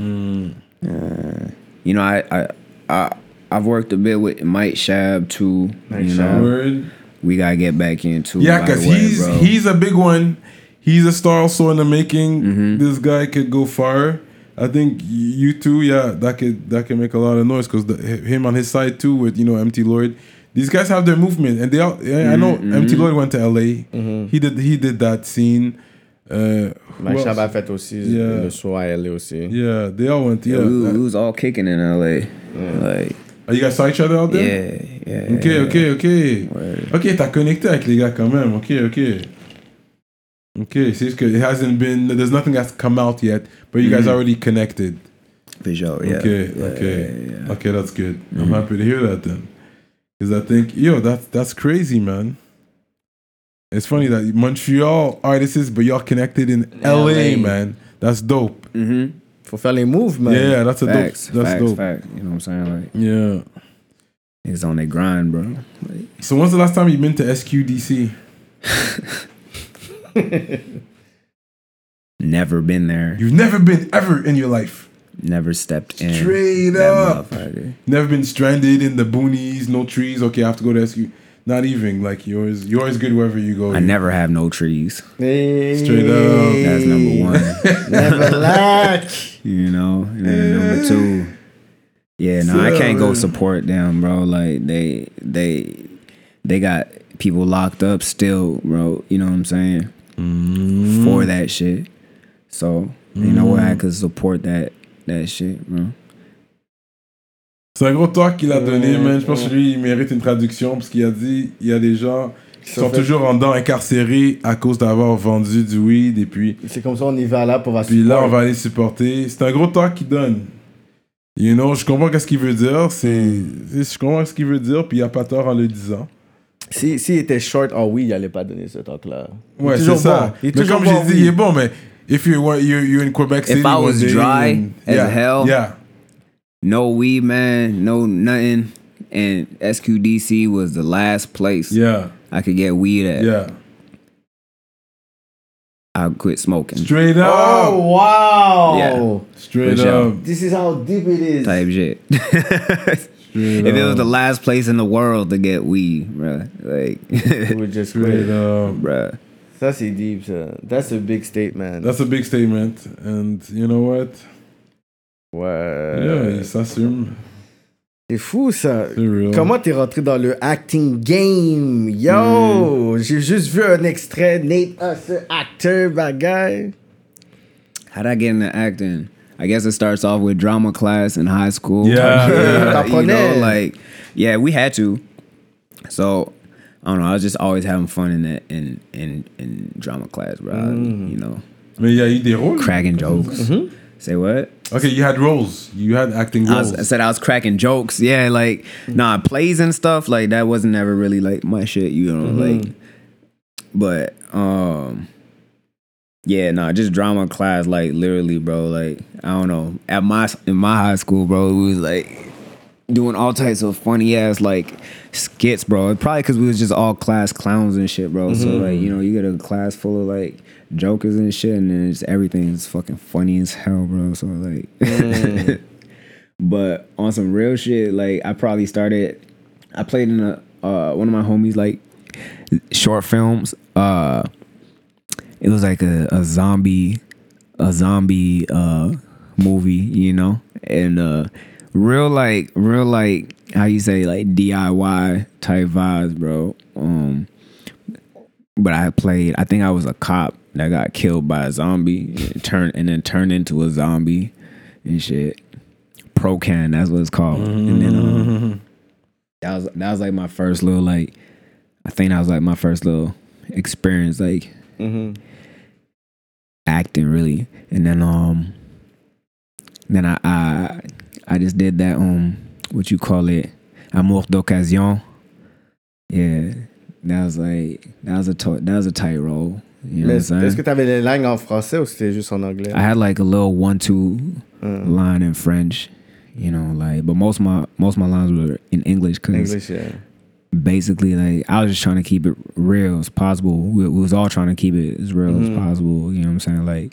S5: Uh, you know, I, I I I've worked a bit with Mike Shab too.
S4: Mike
S5: you
S4: Shab.
S5: know,
S3: Word.
S5: we gotta get back into.
S3: Yeah,
S5: right
S3: because
S5: away,
S3: he's
S5: bro.
S3: he's a big one. He's a star also in the making.
S5: Mm-hmm.
S3: This guy could go far. I think you too. Yeah, that could that could make a lot of noise because him on his side too with you know M T Lloyd. These guys have their movement, and they all. Yeah, I know
S5: Mm-hmm.
S3: M T Lloyd went to L A. He did he did that scene. Uh, who
S4: Mike
S3: else?
S4: Shab a fait aussi
S3: Yeah.
S4: le show à L A aussi.
S3: Yeah, they all went. Yeah.
S5: Yeah, we,
S3: Uh,
S5: we was all kicking in L A. Like,
S3: oh, you guys saw each other out there?
S5: yeah, yeah.
S3: Ok,
S5: yeah.
S3: ok, ok.
S5: Word.
S3: Ok, t'as connecté avec les gars quand même. Ok, ok. Ok, c'est juste que it hasn't been, there's nothing that's come out yet, but you guys already connected.
S5: For sure, yeah.
S3: Okay,
S5: Yeah,
S3: okay.
S5: yeah, yeah.
S3: Okay, that's good. I'm happy to hear that then. Because I think, yo, that's, that's crazy, man. It's funny that Montreal artists, but y'all connected in L A,
S4: L A.
S3: man. That's dope.
S5: Mm-hmm.
S4: Faut faire les moves, man.
S3: Yeah, that's a
S5: Facts,
S3: dope. That's
S5: facts,
S3: dope.
S5: facts. You know what I'm saying? Like,
S3: Yeah.
S5: it's on their grind, bro. Like,
S3: So when's the last time you've been to S Q D C?
S5: never been there.
S3: You've never been ever in your life.
S5: Never stepped in.
S3: Straight
S5: that
S3: up.
S5: motherfucker.
S3: Never been stranded in the boonies, no trees. Okay, I have to go to S Q. Not even like yours. You're always good wherever you go.
S5: I never have no trees.
S4: Hey.
S3: Straight up.
S5: That's number one.
S4: Never lack.
S5: You know, and then number two, yeah, no, I can't go support them, bro. Like they, they, they got people locked up still, bro. You know what I'm saying?
S3: Mm.
S5: For that shit. So you know what, I could support that that shit, bro.
S3: C'est un gros talk qu'il a donné, man. Je pense que lui, il mérite une traduction parce qu'il a dit il y a des gens qui sont toujours en dedans incarcérés à cause d'avoir vendu du weed et puis.
S4: C'est comme ça, on y va là pour va
S3: Puis là, on va aller supporter. C'est un gros talk qu'il donne. You know, je comprends qu'est-ce qu'il veut dire. C'est, je comprends ce qu'il veut dire, puis il n'y a pas tort en le disant.
S4: Si, s'il était short en oui, il allait pas donner ce talk-là.
S3: Ouais, c'est
S4: toujours
S3: ça.
S4: bon. Il est
S3: Mais
S4: toujours
S3: comme
S4: bon,
S3: j'ai dit,
S4: oui.
S3: il est bon, mais if you want, you're, you're in Quebec City.
S5: If I was
S3: one day
S5: dry
S3: and-
S5: as
S3: yeah,
S5: hell,
S3: yeah.
S5: no weed, man, no nothing, and S Q D C was the last place
S3: Yeah,
S5: I could get weed at,
S3: yeah.
S5: I quit smoking.
S3: Straight up.
S4: Oh, wow.
S5: Yeah.
S3: Straight
S5: For sure.
S3: up.
S4: This is how deep it is.
S5: Type shit.
S3: Straight
S5: If it was
S3: up.
S5: the last place in the world to get weed, bruh, like,
S4: We just
S3: Straight
S4: quit.
S3: up.
S5: bruh.
S4: Ça, c'est deep, ça. That's a big statement.
S3: That's a big statement. And you know what?
S4: Ouais.
S3: Yeah, il s'assume.
S4: C'est fou, ça.
S3: C'est real.
S4: Comment t'es rentré dans le acting game? Yo! J'ai juste vu un extrait. Nate Husser, acteur, bagaille.
S5: How'd I get into acting? I guess it starts off with drama class in high school.
S3: Yeah, yeah.
S5: you know,
S4: T'apprenais.
S5: like, yeah, we had to. So, I don't know. I was just always having fun in that in in in drama class, bro. You know,
S3: Mais il y a eu des rôles.
S5: cracking jokes. Say what?
S3: Okay, you had roles. You had acting
S5: I,
S3: roles.
S5: was, I said I was cracking jokes. Yeah, like nah, plays and stuff like that wasn't never really like my shit. You know, like, but um, yeah, nah, just drama class. Like literally, bro. Like I don't know. At my in my high school, bro, we was like doing all types of funny ass like skits, bro. Probably because we was just all class clowns and shit, bro. So like you know, you get a class full of like jokers and shit, and then it's everything's fucking funny as hell, bro. So like, but on some real shit, like I probably started. I played in a uh, one of my homies like short films. Uh, it was like a, a zombie, a zombie uh movie, you know, and uh, real like real like how you say like D I Y type vibes, bro. Um, but I played. I think I was a cop that got killed by a zombie, and turned and then turned into a zombie and shit. Procan, that's what it's called. And then um, that was that was like my first little like. I think that was like my first little experience, like acting really. And then um, then I I I just did that um, what you call it, amour d'occasion. Yeah, that was like that was a to- that was a tight role. You know
S4: Mais
S5: what I'm saying?
S4: est-ce que t'avais les langues en français ou c'était juste en anglais?
S5: I had like a little one-two line in French, you know, like, but most of my most of my lines were in English because
S4: English, yeah.
S5: basically, like, I was just trying to keep it real as possible. We, we was all trying to keep it as real as possible. You know what I'm saying? Like,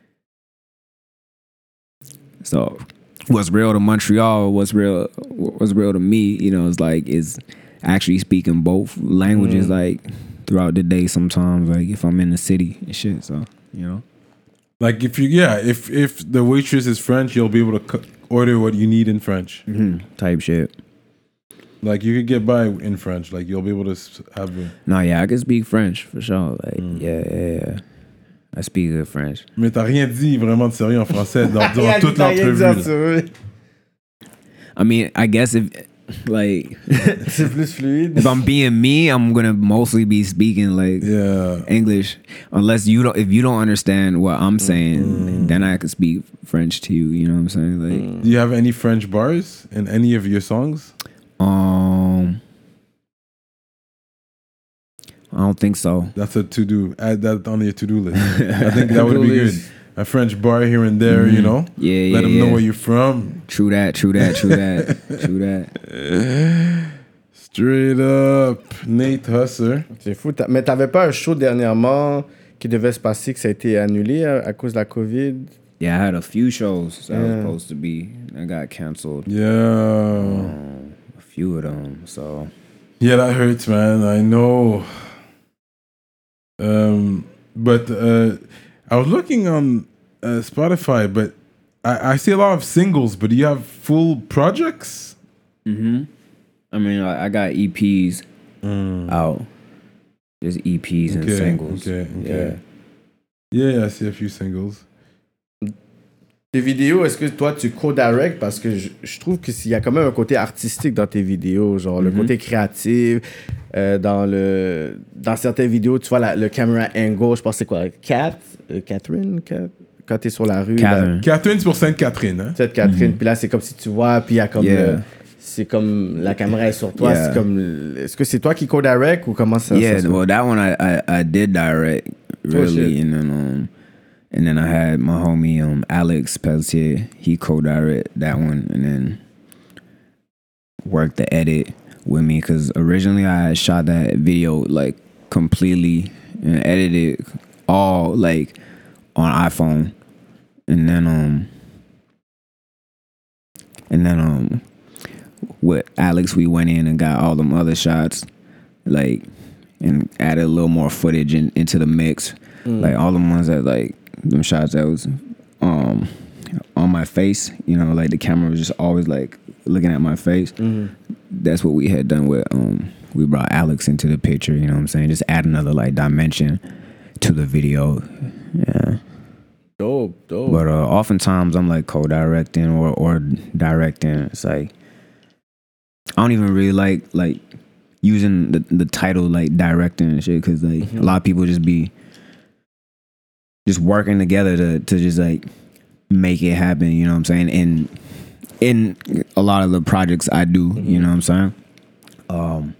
S5: so what's real to Montreal, what's real, what's real to me, you know, is like is actually speaking both languages, like throughout the day. Sometimes, like if I'm in the city and shit, so you know.
S3: Like if you, yeah, if if the waitress is French, you'll be able to cu- order what you need in French.
S5: Mm-hmm. Type shit.
S3: Like you could get by in French. Like you'll be able to s- have. A,
S5: No, yeah, I can speak French for sure. Like, yeah, yeah, yeah. I speak good French.
S3: mais t'as rien dit vraiment de sérieux en français dans,
S4: Il a
S3: durant
S4: dit
S3: toute
S4: t'as rien dit
S3: l'entrevue.
S4: sur
S3: là.
S4: eux.
S5: I mean, I guess if, like,
S4: C'est plus fluide.
S5: if I'm being me, I'm gonna mostly be speaking like
S3: Yeah.
S5: English, unless you don't. If you don't understand what I'm saying, then I can speak French to you. You know what I'm saying? Like,
S3: Do you have any French bars in any of your songs?
S5: um, I don't think so.
S3: That's a to do. Add that on your to do list. I think that would be good. a French bar here and there, you know.
S5: Yeah,
S3: Let
S5: yeah,
S3: them know
S5: yeah.
S3: where you're from.
S5: True that, true that, true that, true that.
S3: Straight up, Nate Husser.
S4: C'est fou. T'as- Mais t'avais pas un show dernièrement qui devait se passer, que ça a été annulé à, à cause de la COVID?
S5: Yeah, I had a few shows that
S4: Yeah.
S5: was supposed to be. I got canceled.
S3: Yeah.
S5: Um, a few of them. So
S3: Yeah, that hurts, man. I know. Um, but uh, I was looking on uh, Spotify, but I, I see a lot of singles, but do you have full projects?
S5: mm-hmm. I mean, I, I got E Ps out. Just E Ps and
S3: Okay,
S5: singles.
S3: okay, okay. Yeah, yeah, I see a few singles.
S4: Tes vidéos, est-ce que toi tu co-direct? Parce que je, je trouve qu'il y a quand même un côté artistique dans tes vidéos, genre le côté créatif. Euh, dans le dans certaines vidéos, tu vois la, le camera angle, je pense que c'est quoi? Kat? Euh, Catherine? Kat? Quand t'es sur la rue.
S5: Catherine.
S4: là,
S3: Catherine, c'est pour Sainte-Catherine, hein?
S4: Cette Catherine, puis là c'est comme si tu vois, puis il y a comme.
S5: Yeah.
S4: le- c'est comme la caméra est sur toi.
S5: Yeah.
S4: C'est comme. Est-ce que c'est toi qui co-direct ou comment ça
S5: Yeah,
S4: ça se
S5: well, that one I, I, I did direct really,
S4: shit.
S5: and then um, and then I had my homie um Alex Pelletier. He co-direct that one, and then worked the edit with me because originally I had shot that video like completely and edited all like on iPhone, and then um and then um with Alex we went in and got all them other shots like and added a little more footage in, into the mix, like all the ones that like them shots that was um on my face, you know, like the camera was just always like looking at my face. That's what we had done with um we brought Alex into the picture, you know what I'm saying, just add another like dimension to the video. Yeah.
S4: Dope, dope.
S5: But uh, oftentimes I'm like co-directing or or directing. It's like I don't even really like like using the, the title like directing and shit because like a lot of people just be just working together to to just like make it happen. You know what I'm saying? And in a lot of the projects I do, you know what I'm saying. Um,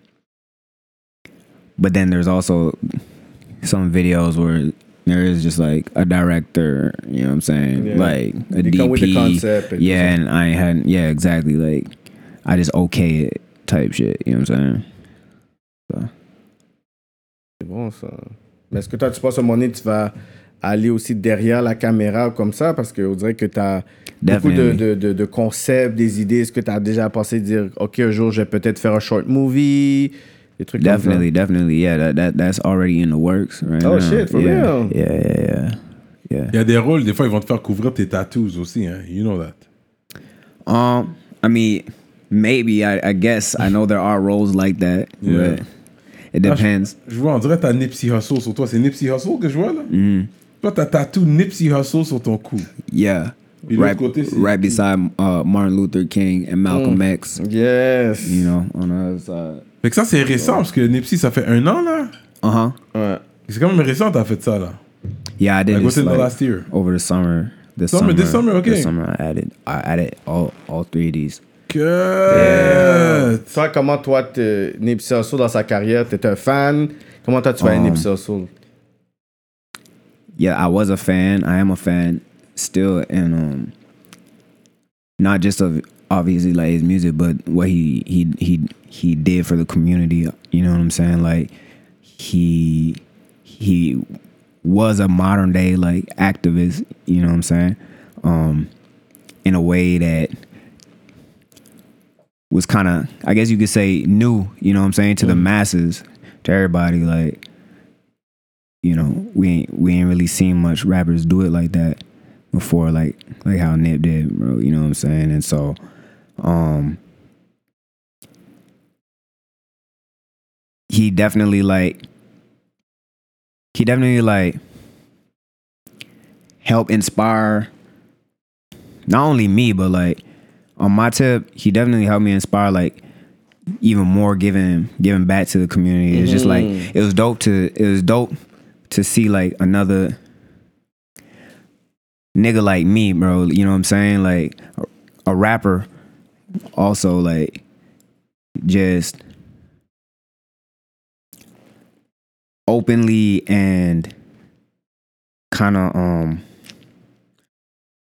S5: but then there's also some videos where there is just like a director, you know what I'm saying?
S4: Yeah.
S5: Like a
S4: They
S5: D P.
S4: come with the concept and
S5: yeah,
S4: stuff.
S5: and I hadn't, yeah, exactly. Like I just okay it type shit, you know what I'm saying? So.
S4: C'est bon ça. Mais est-ce que toi tu penses à un moment donné tu vas aller aussi derrière la caméra comme ça? Parce qu'on dirait que tu as beaucoup de,
S5: Definitely.
S4: de, de, de concepts, des idées. Est-ce que tu as déjà pensé dire, OK, un jour je vais peut-être faire un short movie? Des trucs
S5: Definitely,
S4: comme
S5: definitely, yeah. That, that that's already in the works right
S4: Oh,
S5: now.
S4: shit, for
S5: yeah.
S4: real?
S5: Yeah, yeah, yeah, yeah.
S3: Il y a des rôles, des fois, ils vont te faire couvrir tes tattoos aussi, hein? You know that.
S5: Um, I mean, maybe I, I guess I know there are roles like that,
S3: Yeah.
S5: but it depends.
S3: Je vois, on dirait que t'as Nipsey Hussle sur toi. C'est Nipsey Hussle que je vois, là?
S5: Mm-hmm.
S3: Toi, t'as tatou Nipsey Hussle sur ton cou.
S5: Yeah,
S3: Puis l'autre
S5: right,
S3: côté, c'est-
S5: right beside uh, Martin Luther King and Malcolm X.
S4: ça? Yes.
S5: You know, on the other side.
S3: Fait que ça, c'est récent, parce que Nipsey, ça fait un an, là.
S5: Uh huh.
S4: Ouais.
S3: C'est quand même récent, t'as fait ça, là.
S5: Yeah, I did
S3: Like
S5: this
S3: within the
S5: like,
S3: last year.
S5: over the summer. This
S3: Summer,
S5: summer,
S3: this summer, okay.
S5: This summer, I added, I added all all three of these.
S3: Que...
S4: Toi, comment toi, te- Nipsey Hussle dans sa carrière, t'es un fan? Comment toi tu vas
S5: Um,
S4: Nipsey Hussle?
S5: Yeah, I was a fan. I am a fan still, and um, not just of obviously like his music, but what he he he he did for the community. You know what I'm saying? Like he he was a modern day like activist. You know what I'm saying? Um, in a way that was kind of, I guess you could say, new. You know what I'm saying, to the masses, to everybody. Like, you know, we ain't we ain't really seen much rappers do it like that before, like like how Nip did, bro. You know what I'm saying? And so, um, he definitely like he definitely like helped inspire not only me, but like on my tip, he definitely helped me inspire like even more giving giving back to the community. It's just like it was dope to it was dope to see like another nigga like me, bro. You know what I'm saying? Like a, a rapper also like just openly and kind of um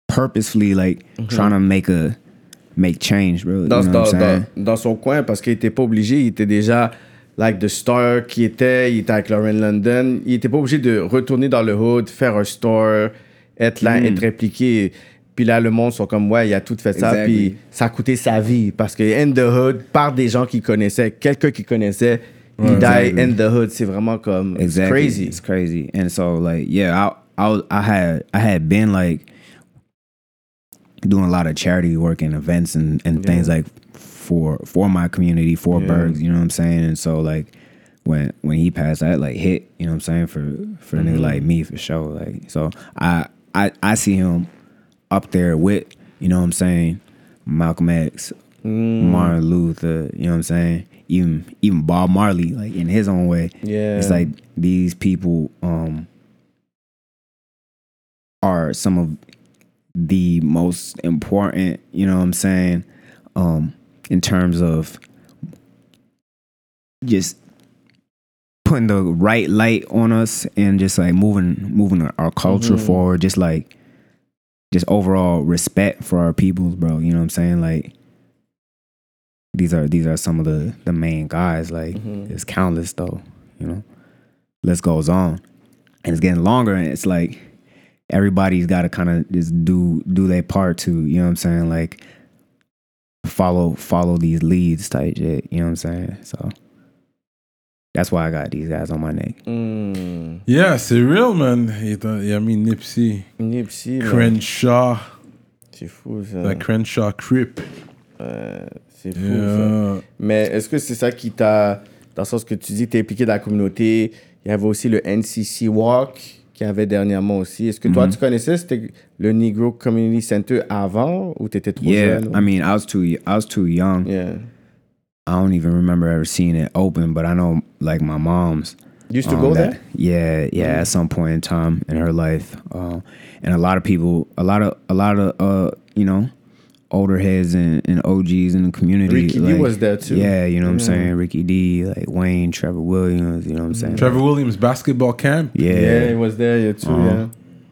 S5: purposefully like trying to make a make change, bro.
S4: Dans,
S5: you know
S4: dans,
S5: what I'm saying?
S4: dans, dans son coin, parce qu'il était pas obligé, il était déjà like the star qui était, il était avec Lauren London, il était pas obligé de retourner dans le hood, faire un store, être là,
S5: Mm.
S4: être impliqué. Puis là, le monde sont comme, ouais, il a tout fait ça,
S5: Exactly.
S4: puis ça a coûté sa vie, parce que In the Hood, par des gens qui connaissaient, quelqu'un qui connaissait, il die
S5: exactly.
S4: In the Hood, c'est vraiment comme, it's
S5: Exactly.
S4: crazy.
S5: It's crazy. And so like, yeah, I I was, I had I had been like doing a lot of charity work and events and, and things like for for my community, for
S4: Yeah.
S5: Bergs, you know what I'm saying? And so like when when he passed, that like hit, you know what I'm saying, for for a nigga like me for sure. Like so I I I see him up there with, you know what I'm saying, Malcolm X, Martin Luther, you know what I'm saying? Even even Bob Marley, like in his own way.
S4: Yeah.
S5: It's like these people um are some of the most important, you know what I'm saying, um, in terms of just putting the right light on us and just like moving moving our, our culture forward, just like just overall respect for our peoples, bro. You know what I'm saying? Like these are these are some of the the main guys. Like it's countless though, you know. List goes on. And it's getting longer and it's like everybody's got to kind of just do do their part to, you know what I'm saying, like follow follow these leads type shit, you know what I'm saying? So that's why I got these guys on my neck.
S4: Mm.
S3: Yeah, c'est real, man. Il y a- il y a mis Nipsey,
S4: Nipsey, là,
S3: Crenshaw,
S4: c'est fou ça.
S3: la Crenshaw Crip.
S4: Euh, c'est fou ça.
S3: Yeah.
S4: Mais est-ce que c'est ça qui t'a, dans le sens que tu dis que t'es impliqué dans la communauté, il y avait aussi le N C C Walk qu'il y avait dernièrement aussi. Est-ce que toi, tu connaissais c'était le Negro Community Center avant ou t'étais trop
S5: Yeah,
S4: jeune?
S5: I mean, I was too I was too young.
S4: Yeah.
S5: I don't even remember ever seeing it open, but I know like my mom's
S4: You used to
S5: um,
S4: go
S5: that-
S4: there?
S5: Yeah, yeah, at some point in time in her life. Um, and a lot of people, a lot of a lot of uh, you know, older heads and, and O Gs in the community.
S4: Ricky D
S5: like,
S4: was there too.
S5: Yeah, you know what I'm saying? Ricky D, like Wayne, Trevor Williams, you know what I'm saying?
S3: Trevor Williams basketball camp.
S5: Yeah.
S4: Yeah, he was there yeah, too,
S5: Uh-huh.
S4: yeah.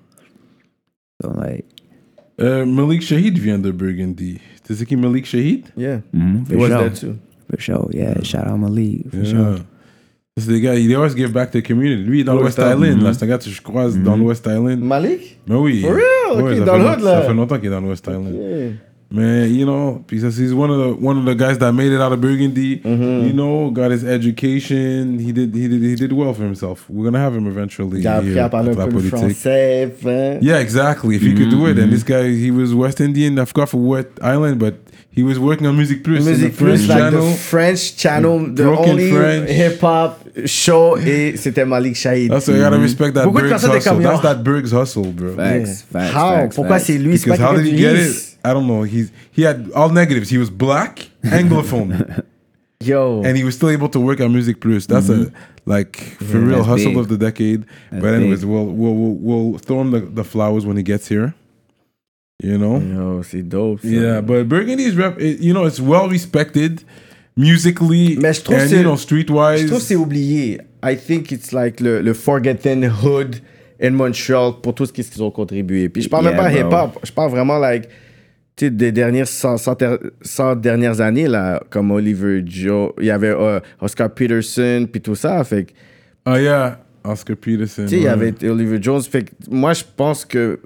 S5: So like,
S3: Euh, Malik Shahid vient de Burgundy. Tu sais qui Malik Shahid?
S4: Yeah.
S5: mhm,
S4: He
S5: for
S4: was
S5: sure.
S4: there too.
S5: For sure. Yeah, shout out Malik. For
S3: Yeah.
S5: sure.
S3: C'est des gars, il always give back to the community. Lui, il est dans
S4: West
S3: l'West Island. Là, c'est un gars que je croise dans l'West Island.
S4: Malik?
S3: Mais oui.
S4: For real?
S3: Ouais,
S4: Ok,
S3: ça
S4: dans
S3: fait
S4: le
S3: long-
S4: hood, là.
S3: Ça fait longtemps qu'il est dans l'West Island.
S4: Yeah.
S3: Man, you know, because he's one of the one of the guys that made it out of Burgundy.
S4: Mm-hmm.
S3: You know, got his education. He did he did he did well for himself. We're gonna have him eventually.
S4: Il a appris
S3: here
S4: à parler
S3: at
S4: un
S3: La
S4: peu le
S3: Politique.
S4: français. hein.
S3: Yeah, exactly. If he could do it, and this guy, he was West Indian. I forgot for what island, but he was working on Music Plus, in the
S4: Music
S3: French
S4: Plus, like
S3: channel.
S4: the French channel, the
S3: Broken
S4: only
S3: French.
S4: hip-hop show, et c'était Malik Shahid.
S3: That's why you gotta respect that
S4: Beaucoup de
S3: Berg's
S4: personnes étaient
S3: hustle.
S4: comme,
S3: That's
S4: yo.
S3: that Berg's hustle, bro.
S5: Facts, facts,
S4: How?
S5: facts,
S4: Pourquoi
S5: facts.
S4: c'est lui? C'est
S3: Because
S4: pas
S3: how
S4: quelqu'un
S3: did
S4: du
S3: he get
S4: Nice.
S3: it? I don't know. He's he had all negatives. He was black, anglophone,
S4: Yo.
S3: and he was still able to work on Music Plus. That's a like for real
S5: That's
S3: hustle
S5: big.
S3: of the decade.
S5: That's
S3: but anyways,
S5: big.
S3: we'll, we'll we'll we'll throw him the, the flowers when he gets here. You know.
S4: Yo, c'est dope. ça.
S3: Yeah, but Burgundy is rep. It, you know, it's well respected musically
S4: Mais je trouve
S3: and
S4: c'est-
S3: you know streetwise.
S4: Je trouve que c'est oublié. I think it's like le, le forgotten hood in Montreal pour tout ce qu'ils ont contribué. Puis je parle
S5: Yeah,
S4: même pas
S5: bro.
S4: hip-hop. Je parle vraiment like tu sais, des dernières cent, cent, cent dernières années là, comme Oliver Joe, il y avait euh, Oscar Peterson puis tout ça. Fait que
S3: Oh yeah, Oscar Peterson.
S4: tu sais, il y
S3: ouais.
S4: avait Oliver Jones. Fait que moi, je pense que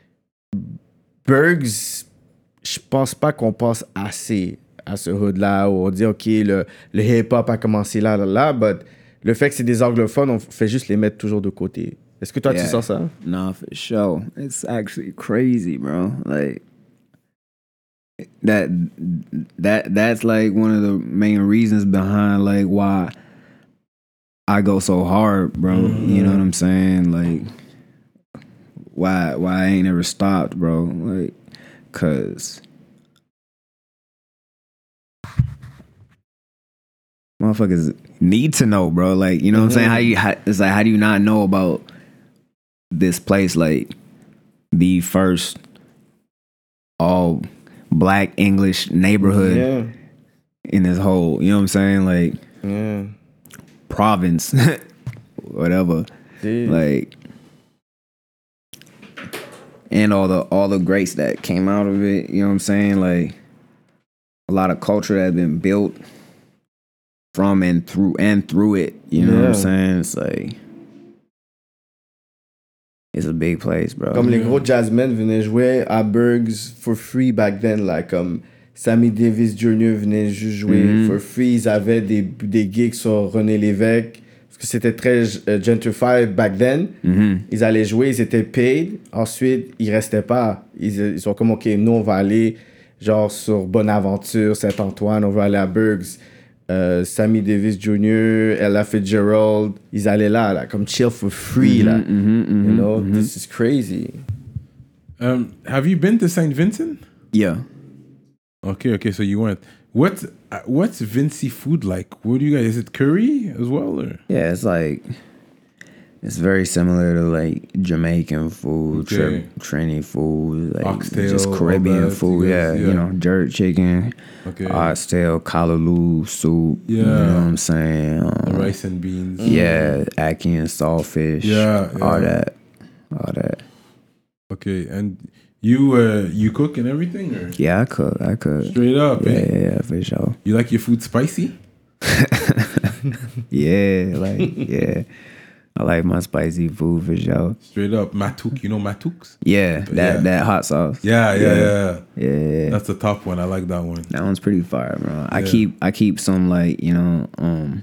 S4: Bergs, je pense pas qu'on pense assez à ce hood-là où on dit, OK, le, le hip-hop a commencé là, là, là, but le fait que c'est des anglophones, on fait juste les mettre toujours de côté. Est-ce que toi,
S5: Yeah.
S4: tu sens ça?
S5: No, for sure. It's actually crazy, bro. Like that that that's like one of the main reasons behind like why I go so hard, bro. You know what I'm saying? Like why why I ain't never stopped, bro. Like cuz motherfuckers need to know, bro. Like, you know what I'm saying? How you how, it's like how do you not know about this place, like the first all black English neighborhood
S4: Yeah.
S5: in this whole, you know what I'm saying? Like
S4: Yeah.
S5: province, whatever.
S4: Dude.
S5: Like and all the all the greats that came out of it. You know what I'm saying? Like a lot of culture that has been built from and through and through it. You know what I'm
S4: Yeah.
S5: saying? It's like it's a big place, bro.
S4: Comme les gros jazzmen venaient jouer à Bergs for free back then, like comme Sammy Davis Junior venait juste jouer
S5: Mhm.
S4: for free. Ils avaient des, des gigs sur René Lévesque, parce que c'était très euh, gentrified back then.
S5: Mhm.
S4: Ils allaient jouer, ils étaient paid. Ensuite, ils restaient pas. Ils, ils sont comme, OK, nous, on va aller genre sur Bonaventure, Saint-Antoine, on va aller à Bergs. Euh, Sammy Davis Junior, Ella Fitzgerald, ils allaient là, là, comme chill for free, là.
S5: Mhm, mhm,
S4: You know,
S5: mhm.
S4: this is crazy.
S3: Um, have you been to Saint Vincent?
S5: Yeah.
S3: Okay, okay, so you went. What's uh, what's Vincy food like? What do you guys? Is it curry as well, or
S5: Yeah, it's like it's very similar to like Jamaican food,
S3: Okay.
S5: tri- Trini food, like
S3: Oxtail,
S5: just
S3: all
S5: Caribbean
S3: that,
S5: food.
S3: you
S5: Yeah,
S3: guys-
S5: you
S3: yeah.
S5: know, jerk chicken,
S3: okay,
S5: oxtail, callaloo soup.
S3: Yeah.
S5: You know what I'm saying?
S3: the
S5: Um,
S3: rice and beans?
S5: Yeah, ackee and saltfish.
S3: Yeah,
S5: all
S3: yeah.
S5: that, all that.
S3: Okay, and you uh you cook and everything, or
S5: Yeah, I cook. I cook.
S3: straight up?
S5: Yeah,
S3: eh?
S5: yeah, yeah, for sure.
S3: You like your food spicy?
S5: Yeah, like yeah, I like my spicy food for sure.
S3: Straight up, matuk. You know matuks?
S5: Yeah, that
S3: Yeah.
S5: that hot sauce.
S3: Yeah, yeah, yeah.
S5: Yeah, yeah.
S3: That's the top one. I like that one.
S5: That one's pretty fire, bro. I
S3: Yeah.
S5: keep I keep some like you know um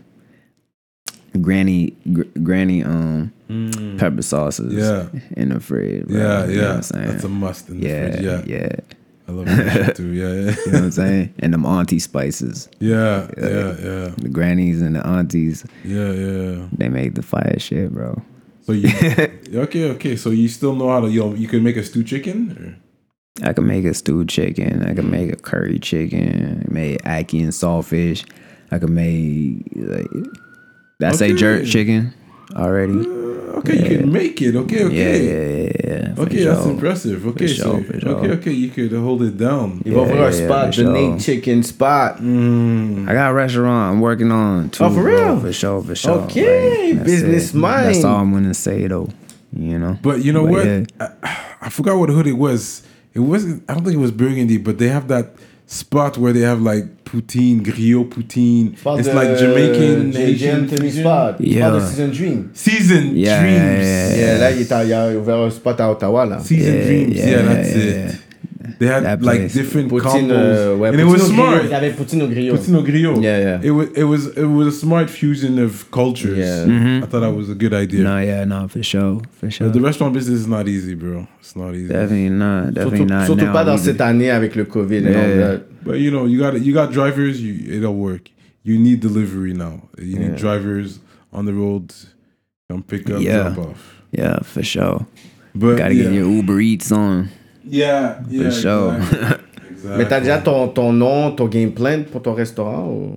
S5: granny gr- granny um pepper sauces
S3: Mm. Yeah.
S5: in the fridge. Bro.
S3: Yeah,
S5: You know
S3: yeah.
S5: what I'm saying?
S3: That's a must in the
S5: yeah,
S3: fridge. Yeah,
S5: yeah.
S3: I love that shit too. Yeah, yeah.
S5: You know what I'm saying? And them auntie spices,
S3: Yeah, yeah, yeah,
S5: the grannies and the aunties,
S3: yeah, yeah.
S5: they make the fire shit, bro.
S3: So you okay? Okay. So you still know how to you you can make a stew chicken? Or?
S5: I can make a stewed chicken. I can make a curry chicken. I made ackee and saltfish. I can make like that's a
S3: Okay.
S5: jerk chicken already.
S3: Okay, you can make it. Okay,
S5: Yeah,
S3: okay.
S5: yeah, yeah, yeah. for
S3: Okay, that's
S5: sure.
S3: impressive. Okay,
S5: For
S3: so
S5: sure, for sure.
S3: okay, okay, you could hold it down.
S4: Ils vont
S5: Yeah,
S4: ouvrir un
S5: yeah,
S4: spot,
S5: for
S4: the
S5: sure.
S4: Nate Chicken spot.
S3: Mm.
S5: I got a restaurant I'm working on too.
S4: Oh, for
S5: bro.
S4: real?
S5: For sure, for sure.
S4: Okay,
S5: that's
S4: business
S5: it.
S4: mind.
S5: That's all I'm gonna say though. You know.
S3: But you know
S5: But
S3: what?
S5: yeah.
S3: I, I forgot what hood it was. It wasn't. I don't think it was Burgundy, but they have that spot where they have like poutine, griot poutine.
S4: Spot
S3: It's
S4: de-
S3: like Jamaican,
S4: J-
S3: Haitian
S4: Anthony
S3: fusion.
S4: spot.
S5: Yeah.
S4: Spot de Season Dream.
S3: Season
S5: Yeah,
S3: Dreams.
S5: yeah, yeah,
S4: Yeah, là, il, est à- il a ouvert un spot à Ottawa, là.
S3: Season
S5: Yeah,
S3: Dreams. Yeah,
S5: yeah,
S3: that's
S5: yeah,
S3: it.
S5: yeah.
S3: They had
S5: That
S3: like
S5: place.
S3: different
S4: Poutine,
S3: combos,
S4: euh, ouais,
S3: and it
S4: poutine
S3: was
S4: au griot.
S3: smart.
S4: Il y avait poutine au griot.
S3: Poutine au griot.
S4: Yeah, yeah.
S3: It was it was it was a smart fusion of cultures.
S4: Yeah.
S5: Mm-hmm.
S3: I thought that was a good idea.
S5: No, yeah, no, for sure, for sure.
S3: But the restaurant business is not easy, bro. It's not easy.
S5: Definitely not. Definitely
S4: Surtout,
S5: not.
S4: surtout
S5: now
S4: pas dans
S5: either.
S4: cette année avec le COVID and
S5: Yeah.
S4: all that.
S3: But you know, you got you got drivers. You it'll work. You need delivery now. You need
S4: Yeah.
S3: drivers on the road, come pick up,
S5: Yeah.
S3: drop off.
S5: Yeah, for sure.
S3: But
S5: Gotta
S3: yeah,
S5: get your Uber Eats on.
S3: yeah, yeah,
S5: For sure.
S3: exactly. Exactly.
S4: Mais t'as déjà ton, ton nom, ton game plan pour ton restaurant ou?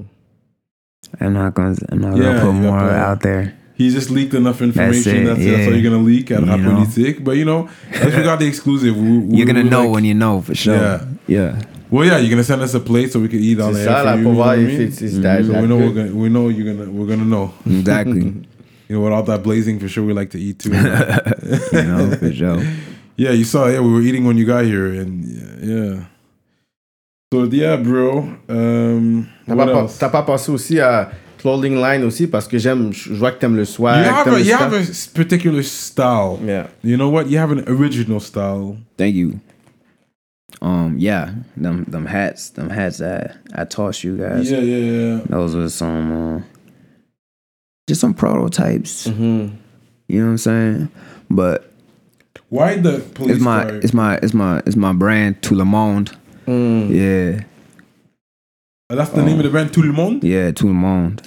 S5: I'm not gonna. I'm not
S3: Yeah,
S5: gonna put
S3: you got
S5: more
S3: that.
S5: out there.
S3: He just leaked enough information.
S5: it,
S3: That's, that's
S5: yeah.
S3: all you're gonna leak at
S5: You
S3: Rap
S5: know.
S3: Politique. But you know, as we got the exclusive, we, we,
S5: You're gonna
S3: we
S5: know
S3: like,
S5: when you know for sure.
S3: Yeah.
S5: Yeah.
S3: Well, yeah, you're gonna send us a plate so we can eat on
S4: C'est
S3: the air
S4: ça,
S3: for
S4: là,
S3: you,
S4: pour
S3: you know
S4: voir
S3: what I
S4: if
S3: mean?
S4: it's, it's that,
S3: So
S4: that
S3: we know we're
S4: good.
S3: gonna we know you're gonna we're gonna know.
S5: Exactly.
S3: You know, with all that blazing, for sure we like to eat too.
S5: you know, for sure.
S3: Yeah, you saw. Yeah, we were eating when you got here, and yeah. yeah. So yeah, bro. Um,
S4: T'as
S3: what
S4: pas,
S3: else?
S4: t'as pas pensé aussi à clothing line aussi parce que j'aime, je vois que t'aimes le swag.
S3: You have
S4: t'aimes
S3: a
S4: le
S3: you
S4: stuff.
S3: have a s- particular style.
S4: Yeah.
S3: You know what? You have an original style.
S5: Thank you. Um, yeah, them them hats, them hats that I tossed you guys.
S3: Yeah, yeah, yeah.
S5: Those were some, uh, just some prototypes.
S4: Mm-hmm.
S5: You know what I'm saying? But
S3: Why the police
S5: it's my,
S3: car?
S5: it's my, it's my, it's my brand, Tout le Monde.
S4: Mm.
S5: Yeah,
S3: That's the name of the brand. Tout le monde.
S5: yeah, Tout le Monde.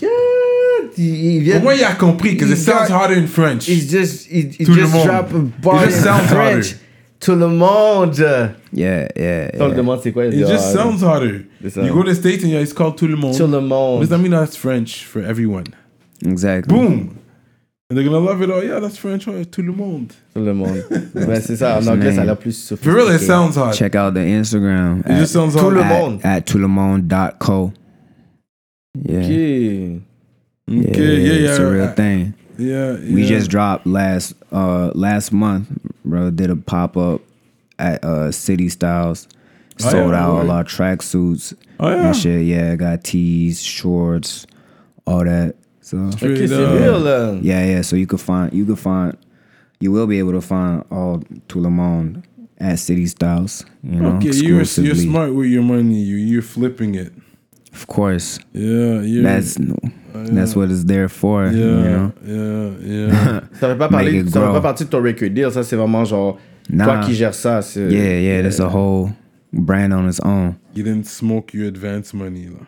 S4: Il vient.
S3: But when you have compris, because it
S4: He
S3: sounds
S4: got-
S3: harder in French.
S4: He's just, he, he
S3: Tout le
S4: just
S3: monde.
S4: drop a bar
S3: It just
S4: in
S3: sounds
S4: French.
S3: harder.
S4: Tout le monde.
S5: Yeah, yeah,
S4: On le
S5: yeah.
S4: demande c'est quoi. il
S3: It
S4: dit,
S3: just
S4: ah,
S3: sounds harder.
S4: C'est ça.
S3: You go to the States and yeah, it's called tout le monde.
S4: Tout le
S3: What
S4: monde.
S3: does that mean? That's French for everyone.
S5: Exactly.
S3: Boom. And they're gonna love it. Oh yeah, that's French. Oh, tout le monde.
S4: Tout le monde. Ouais, c'est ça. En
S5: That's
S4: anglais,
S5: the
S4: ça a
S5: name.
S4: l'air plus
S3: For
S4: sophistiqué.
S3: real, it sounds hard.
S5: Check out the Instagram.
S3: It just sounds
S4: Tout
S3: hard.
S4: le
S5: at,
S4: monde.
S5: at toulemonde dot co. Yeah.
S4: Okay.
S3: Okay, yeah, yeah.
S5: It's a real
S3: I-
S5: thing.
S3: Yeah,
S5: We
S3: yeah.
S5: just dropped last uh last month, bro. Did a pop up at uh, City Styles.
S3: Oh,
S5: Sold
S3: yeah,
S5: out
S3: right.
S5: a lot of tracksuits
S3: Oh, yeah.
S5: and shit. Yeah, got tees, shorts, all that. So
S4: Ok,
S3: Straight
S4: c'est
S3: up.
S4: real, là.
S5: yeah, yeah. So you could find, you could find, you will be able to find all Tout le Monde at City Styles. You know,
S3: Okay, you're, you're
S5: exclusively.
S3: smart with your money. You, you're flipping it.
S5: Of course,
S3: Yeah, you're...
S5: that's that's what it's there for.
S3: Yeah,
S5: You know.
S3: yeah, yeah.
S4: Ça fait pas parler,
S5: Make it
S4: ça fait
S5: grow.
S4: pas partie de ton record deal. Ça, c'est vraiment genre
S5: Nah.
S4: toi qui gères ça. c'est-
S5: Yeah, yeah. That's a whole brand on its own.
S3: You didn't smoke your advance money. Là.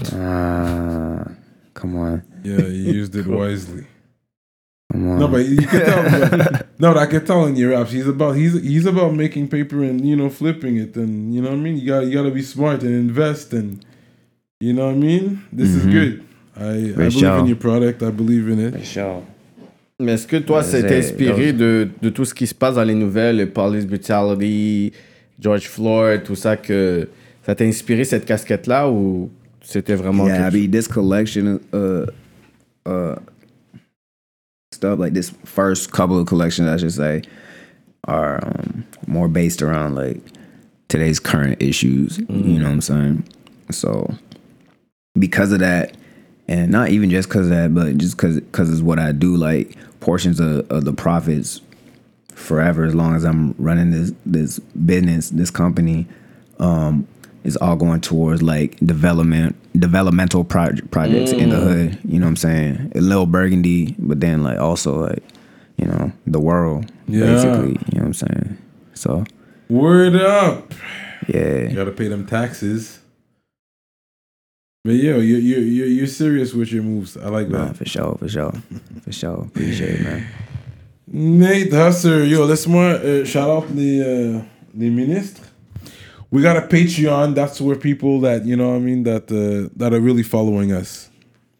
S5: Ah, come on,
S3: Yeah, you used it wisely.
S5: come on.
S3: No, but you can tell. But, no, I can tell in your raps. He's about he's he's about making paper and you know flipping it, and you know what I mean. You got you got to be smart and invest, and you know what I mean. This is
S5: Mhm.
S3: good. I, I
S5: For
S3: believe
S5: sure.
S3: in your product. I believe in it.
S5: sure.
S4: Mais est-ce que toi,
S5: Yeah,
S4: c'est
S5: c'est-
S4: inspiré de, de tout ce qui se passe dans les nouvelles, le police brutality, George Floyd, tout ça, que ça t'a inspiré cette casquette-là ou c'était vraiment
S5: Yeah, I
S4: quelque
S5: mean, this collection, uh, uh, stuff like this first couple of collections, I should say, are um, more based around like today's current issues. You know what I'm saying? So because of that, and not even just because of that, but just because because it's what I do. Like portions of, of the profits forever, as long as I'm running this this business, this company, um, is all going towards like development, developmental project projects in the hood. You know what I'm saying? A little Burgundy, but then like also like you know the world,
S3: Yeah.
S5: basically. You know what I'm saying? So
S3: Word up. You
S5: yeah,
S3: got to pay them taxes. But yo, you you you you're serious with your moves. I like
S5: nah,
S3: that.
S5: for sure, for sure, for sure. Appreciate it, man.
S3: Nate Husser, yo, laisse-moi uh, shout out les, uh, les ministres. We got a Patreon. That's where people that, you know what I mean, that uh, that are really following us.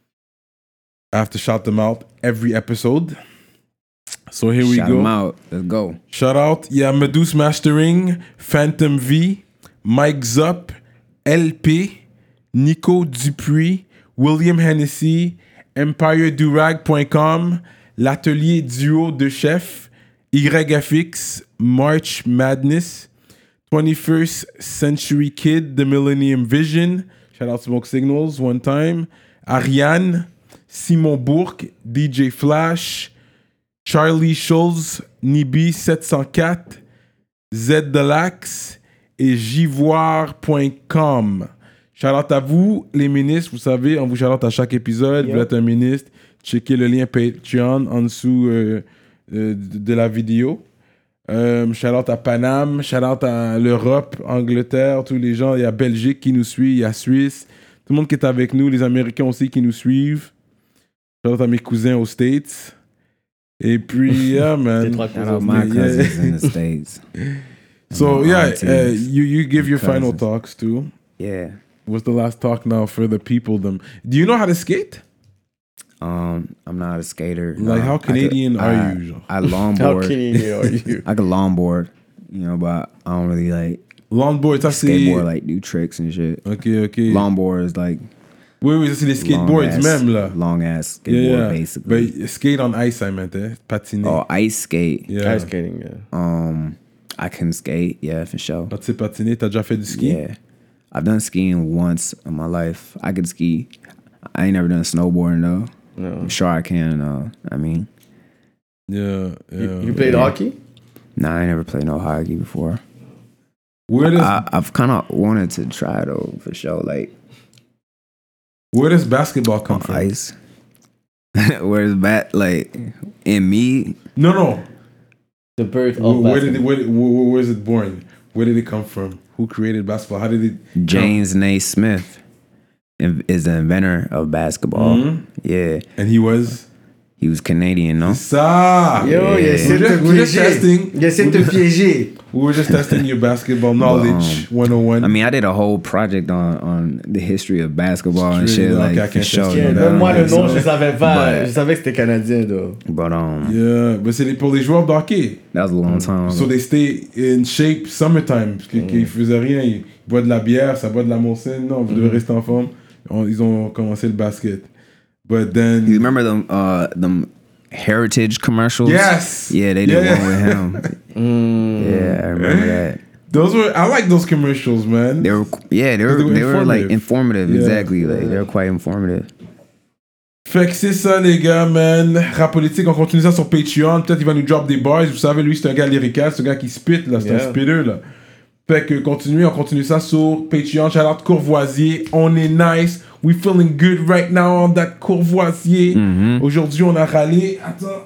S3: I have to shout them out every episode. So here we
S5: Shout
S3: go.
S5: 'em out. Let's go.
S3: Shout out, yeah, Medus Mastering, Phantom V, Mike Zup, L P, Nico Dupuis, William Hennessy, Empire Durag dot com, l'atelier duo de chef, Y F X, March Madness, twenty-first Century Kid, The Millennium Vision, shout out Smoke Signals one time, Ariane, Simon Bourque, D J Flash, Charlie Schulz, Nibi sept cent quatre, Z Delax et Jivoire point com. Shout out à vous, les ministres. Vous savez, on vous shout out à chaque épisode. Vous êtes un ministre. Checkez le lien Patreon en dessous euh, euh, de la vidéo. Euh, shout out à Paname. Shout out à l'Europe, Angleterre, tous les gens. Il y a Belgique qui nous suit. Il y a Suisse. Tout le monde qui est avec nous. Les Américains aussi qui nous suivent. Shout out à mes cousins aux States. Et puis, yeah, man.
S4: trois
S5: Shout
S4: cousins.
S5: out my
S3: Yeah.
S5: cousins in the States.
S3: So,
S5: my
S3: yeah,
S5: aunties,
S3: uh, you, you give your final
S5: cousins.
S3: talks too.
S5: Yeah.
S3: What's the last talk now for the people? Them. Do you know how to skate?
S5: Um, I'm not a skater.
S3: Like,
S5: No,
S3: how
S5: I could-
S3: Canadian are
S5: I-
S3: you, genre?
S5: I
S4: How
S5: longboard.
S4: Canadian are you?
S5: I could longboard, you know, but I don't really like
S3: Longboard, ça c'est.
S5: skateboard, like do tricks and shit.
S3: Ok, ok.
S5: Longboard is like
S3: Oui, oui, ça c'est les skateboards
S5: long ass,
S3: même là.
S5: long ass skateboard
S3: Yeah, yeah.
S5: basically.
S3: But skate on ice, I meant, eh? Patiner.
S5: Oh, ice skate.
S3: Yeah.
S4: Ice skating, yeah.
S5: Um, I can skate. Yeah, for sure.
S3: Quand tu sais patiner, t'as déjà fait du ski?
S5: Yeah, I've done skiing once in my life. I could ski. I ain't never done snowboarding though.
S4: No.
S5: I'm sure I can. Uh, I mean,
S3: Yeah, yeah.
S4: You, you played
S5: Yeah.
S4: hockey?
S5: nah, I ain't never played no hockey before.
S3: Where does,
S5: I, I've kind of wanted to try though, for sure. Like
S3: where does basketball come
S5: on
S3: from?
S5: ice. Where's that? Like in me,
S3: No, no.
S4: The birth
S3: Where,
S4: of
S3: where did it,
S4: basketball.
S3: where, where, where is it born? Where did it come from? Who created basketball? How did it?
S5: James Naismith in- is the inventor of basketball.
S3: Mhm.
S5: Yeah,
S3: And he was.
S5: he was Canadian, no?
S3: Ça.
S4: Yo, il
S5: Yeah.
S4: essaie de
S3: We're
S4: te
S3: just- we're just
S4: piéger.
S3: testing.
S4: Il essaie de te piéger.
S3: We were just testing your basketball knowledge. one oh one.
S5: I mean, I did a whole project on on the history of basketball and
S3: Straight
S5: shit,
S3: up,
S5: like
S3: I
S5: for
S3: can't
S5: sure.
S3: test
S5: you
S3: you.
S5: know?
S4: Donne-moi le nom,
S3: so-
S4: je savais pas.
S5: But-
S4: Je savais que c'était canadien, though.
S5: But um,
S3: Yeah, mais c'est les- pour les joueurs de hockey.
S5: that was a long time ago.
S3: So they stay in shape summertime. Parce qu'ils qu'ils faisaient rien. Ils boivent de la bière, ça boit de la Molson. Non, vous devez rester en forme. On- Ils ont commencé le basket. But then.
S5: You remember them uh them Heritage commercials.
S3: Yes.
S5: Yeah, they did
S3: Yeah.
S5: one with him. Yeah, I remember that.
S3: Those were, I like those commercials, man.
S5: They were, yeah, they were,
S3: They were
S5: they were like
S3: informative.
S5: informative.
S3: Yeah.
S5: Exactly, like they were quite informative.
S3: Fait que c'est ça, les gars, man. Rap politique, on continue ça sur Patreon. Peut-être il va nous drop des bars. Vous savez, lui, c'est un gars lyrical, c'est un gars qui spit, là. C'est
S4: Yeah.
S3: un spitter, là. Fait que continue, on continue ça sur Patreon. Shout out Courvoisier. On est nice. We feeling good right now on that Courvoisier.
S5: Mm-hmm.
S3: Aujourd'hui, on a râlé. Attends.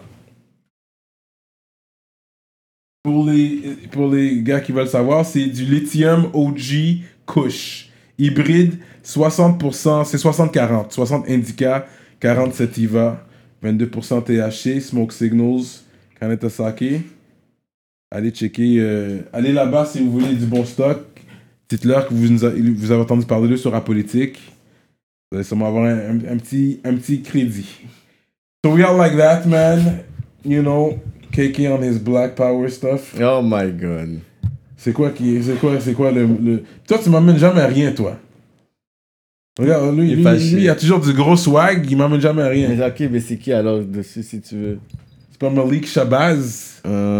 S3: Pour les, pour les gars qui veulent savoir, c'est du Lithium O G Kush. Hybride, soixante pour cent, c'est soixante quarante. soixante Indica, quarante Sativa, vingt-deux pour cent T H C, Smoke Signals, Kaneta Sake. Allez checker, euh, allez là-bas si vous voulez du bon stock. Dites-leur que vous, nous a- vous avez entendu parler d'eux sur la politique. Vous allez sûrement avoir un, un- un petit, un petit crédit. So we are like that, man. You know, K K on his Black Power stuff.
S4: Oh my god.
S3: C'est quoi qui, c'est quoi, c'est quoi le, le... Toi, tu m'amènes jamais rien, toi. Regarde, lui,
S4: Il est
S3: lui,
S4: fâché.
S3: lui, il a toujours du gros swag, il m'amène jamais rien.
S4: Mais ok, mais c'est qui alors dessus si tu veux?
S3: C'est pas Malik Shabazz.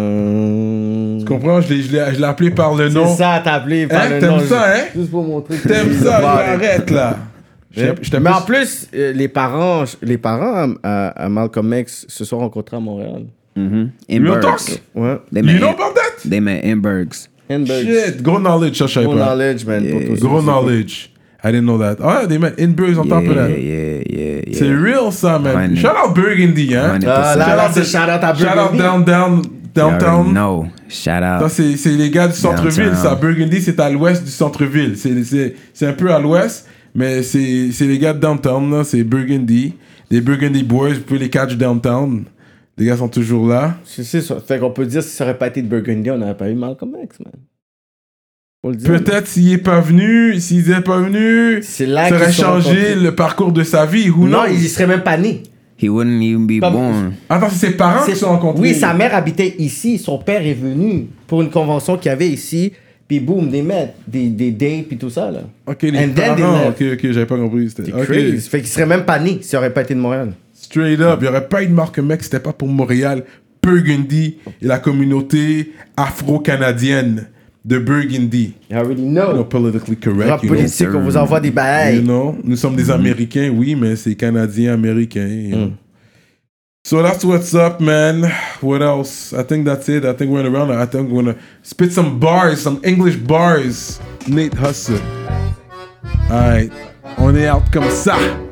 S4: Euh...
S3: Tu comprends? Je l'ai, je l'ai, je l'ai appelé par le nom.
S4: C'est ça, t'as appelé par
S3: Hein,
S4: le
S3: t'aimes
S4: nom.
S3: ça,
S4: juste-
S3: hein?
S4: Juste pour montrer que
S3: T'aimes
S4: t'es
S3: ça,
S4: le bar.
S3: arrête là.
S4: Mais,
S3: Je t'ai
S4: mais en
S3: plus-
S4: plus, euh, les parents, les parents à, à Malcolm X se sont rencontrés à Montréal.
S5: Mm-hmm. In
S3: Real
S5: Bergs.
S3: talk?
S4: Ouais.
S5: They
S3: You
S5: met
S3: know
S5: in,
S3: about that?
S5: they met in Bergs.
S4: Handbags.
S3: Shit, gros knowledge, ça, je savais
S4: Gros
S3: pas.
S4: knowledge, man. pour
S5: Yeah.
S4: tous ceux
S3: Gros
S4: qui-
S3: knowledge. I didn't know that. Ah, they met in Burgs on
S5: Yeah,
S3: top of that.
S5: yeah, yeah, yeah.
S3: C'est real, ça, man.
S5: Hundred.
S3: Shout out Burgundy, hein.
S5: Hundred
S4: Ah, là,
S5: percent.
S4: là, c'est shout out à
S3: Shout out
S4: Burgundy.
S3: down, down, downtown.
S5: No, shout
S3: Ça,
S5: out.
S3: c'est, c'est les gars du centre-ville,
S5: Downtown.
S3: ça. Burgundy, c'est à l'ouest du centre-ville. C'est, c'est, c'est un peu à l'ouest, mais c'est, c'est les gars de downtown, là. C'est Burgundy. Les Burgundy Boys, vous pouvez les catch downtown. Les gars sont toujours là.
S4: C'est c'est ça. Fait qu'on peut dire si ça aurait pas été de Burgundy, on n'aurait pas eu Malcolm X, man. Faut le dire.
S3: Peut-être s'il est pas venu, s'il n'est pas venu,
S4: C'est là
S3: ça aurait
S4: qu'ils se sont
S3: changé
S4: rencontrés.
S3: le parcours de sa vie. Who
S4: Non,
S3: knows?
S4: il serait même pas né.
S5: He wouldn't even be
S4: Comme-
S5: born.
S3: Attends, c'est ses parents qui se sont rencontrés.
S4: Oui, sa mère habitait ici. Son père est venu pour une convention qu'il y avait ici. Puis boum, des mètres, des, des dates, puis tout ça, là.
S3: Ok, les
S4: And then
S3: parents.
S4: they
S3: Ok, ok, j'avais pas compris. C'était...
S4: C'est
S3: ok.
S4: crazy. Fait qu'il serait même pas né s'il aurait pas été de Montréal.
S3: Straight up, il n'y aurait pas eu de Malcolm X, c'était pas pour Montréal, Burgundy et la communauté afro-canadienne de Burgundy.
S4: You already
S3: You know,
S4: know.
S3: politically correct,
S4: Rap
S3: you know.
S4: politique, on vous envoie des bails.
S3: You know, nous sommes des Américains, oui, mais c'est Canadiens-Américains. You know. So that's what's up, man. What else? I think that's it. I think we're around. I think we're gonna spit some bars, some English bars. Nate Hustle. Alright, on est out comme ça.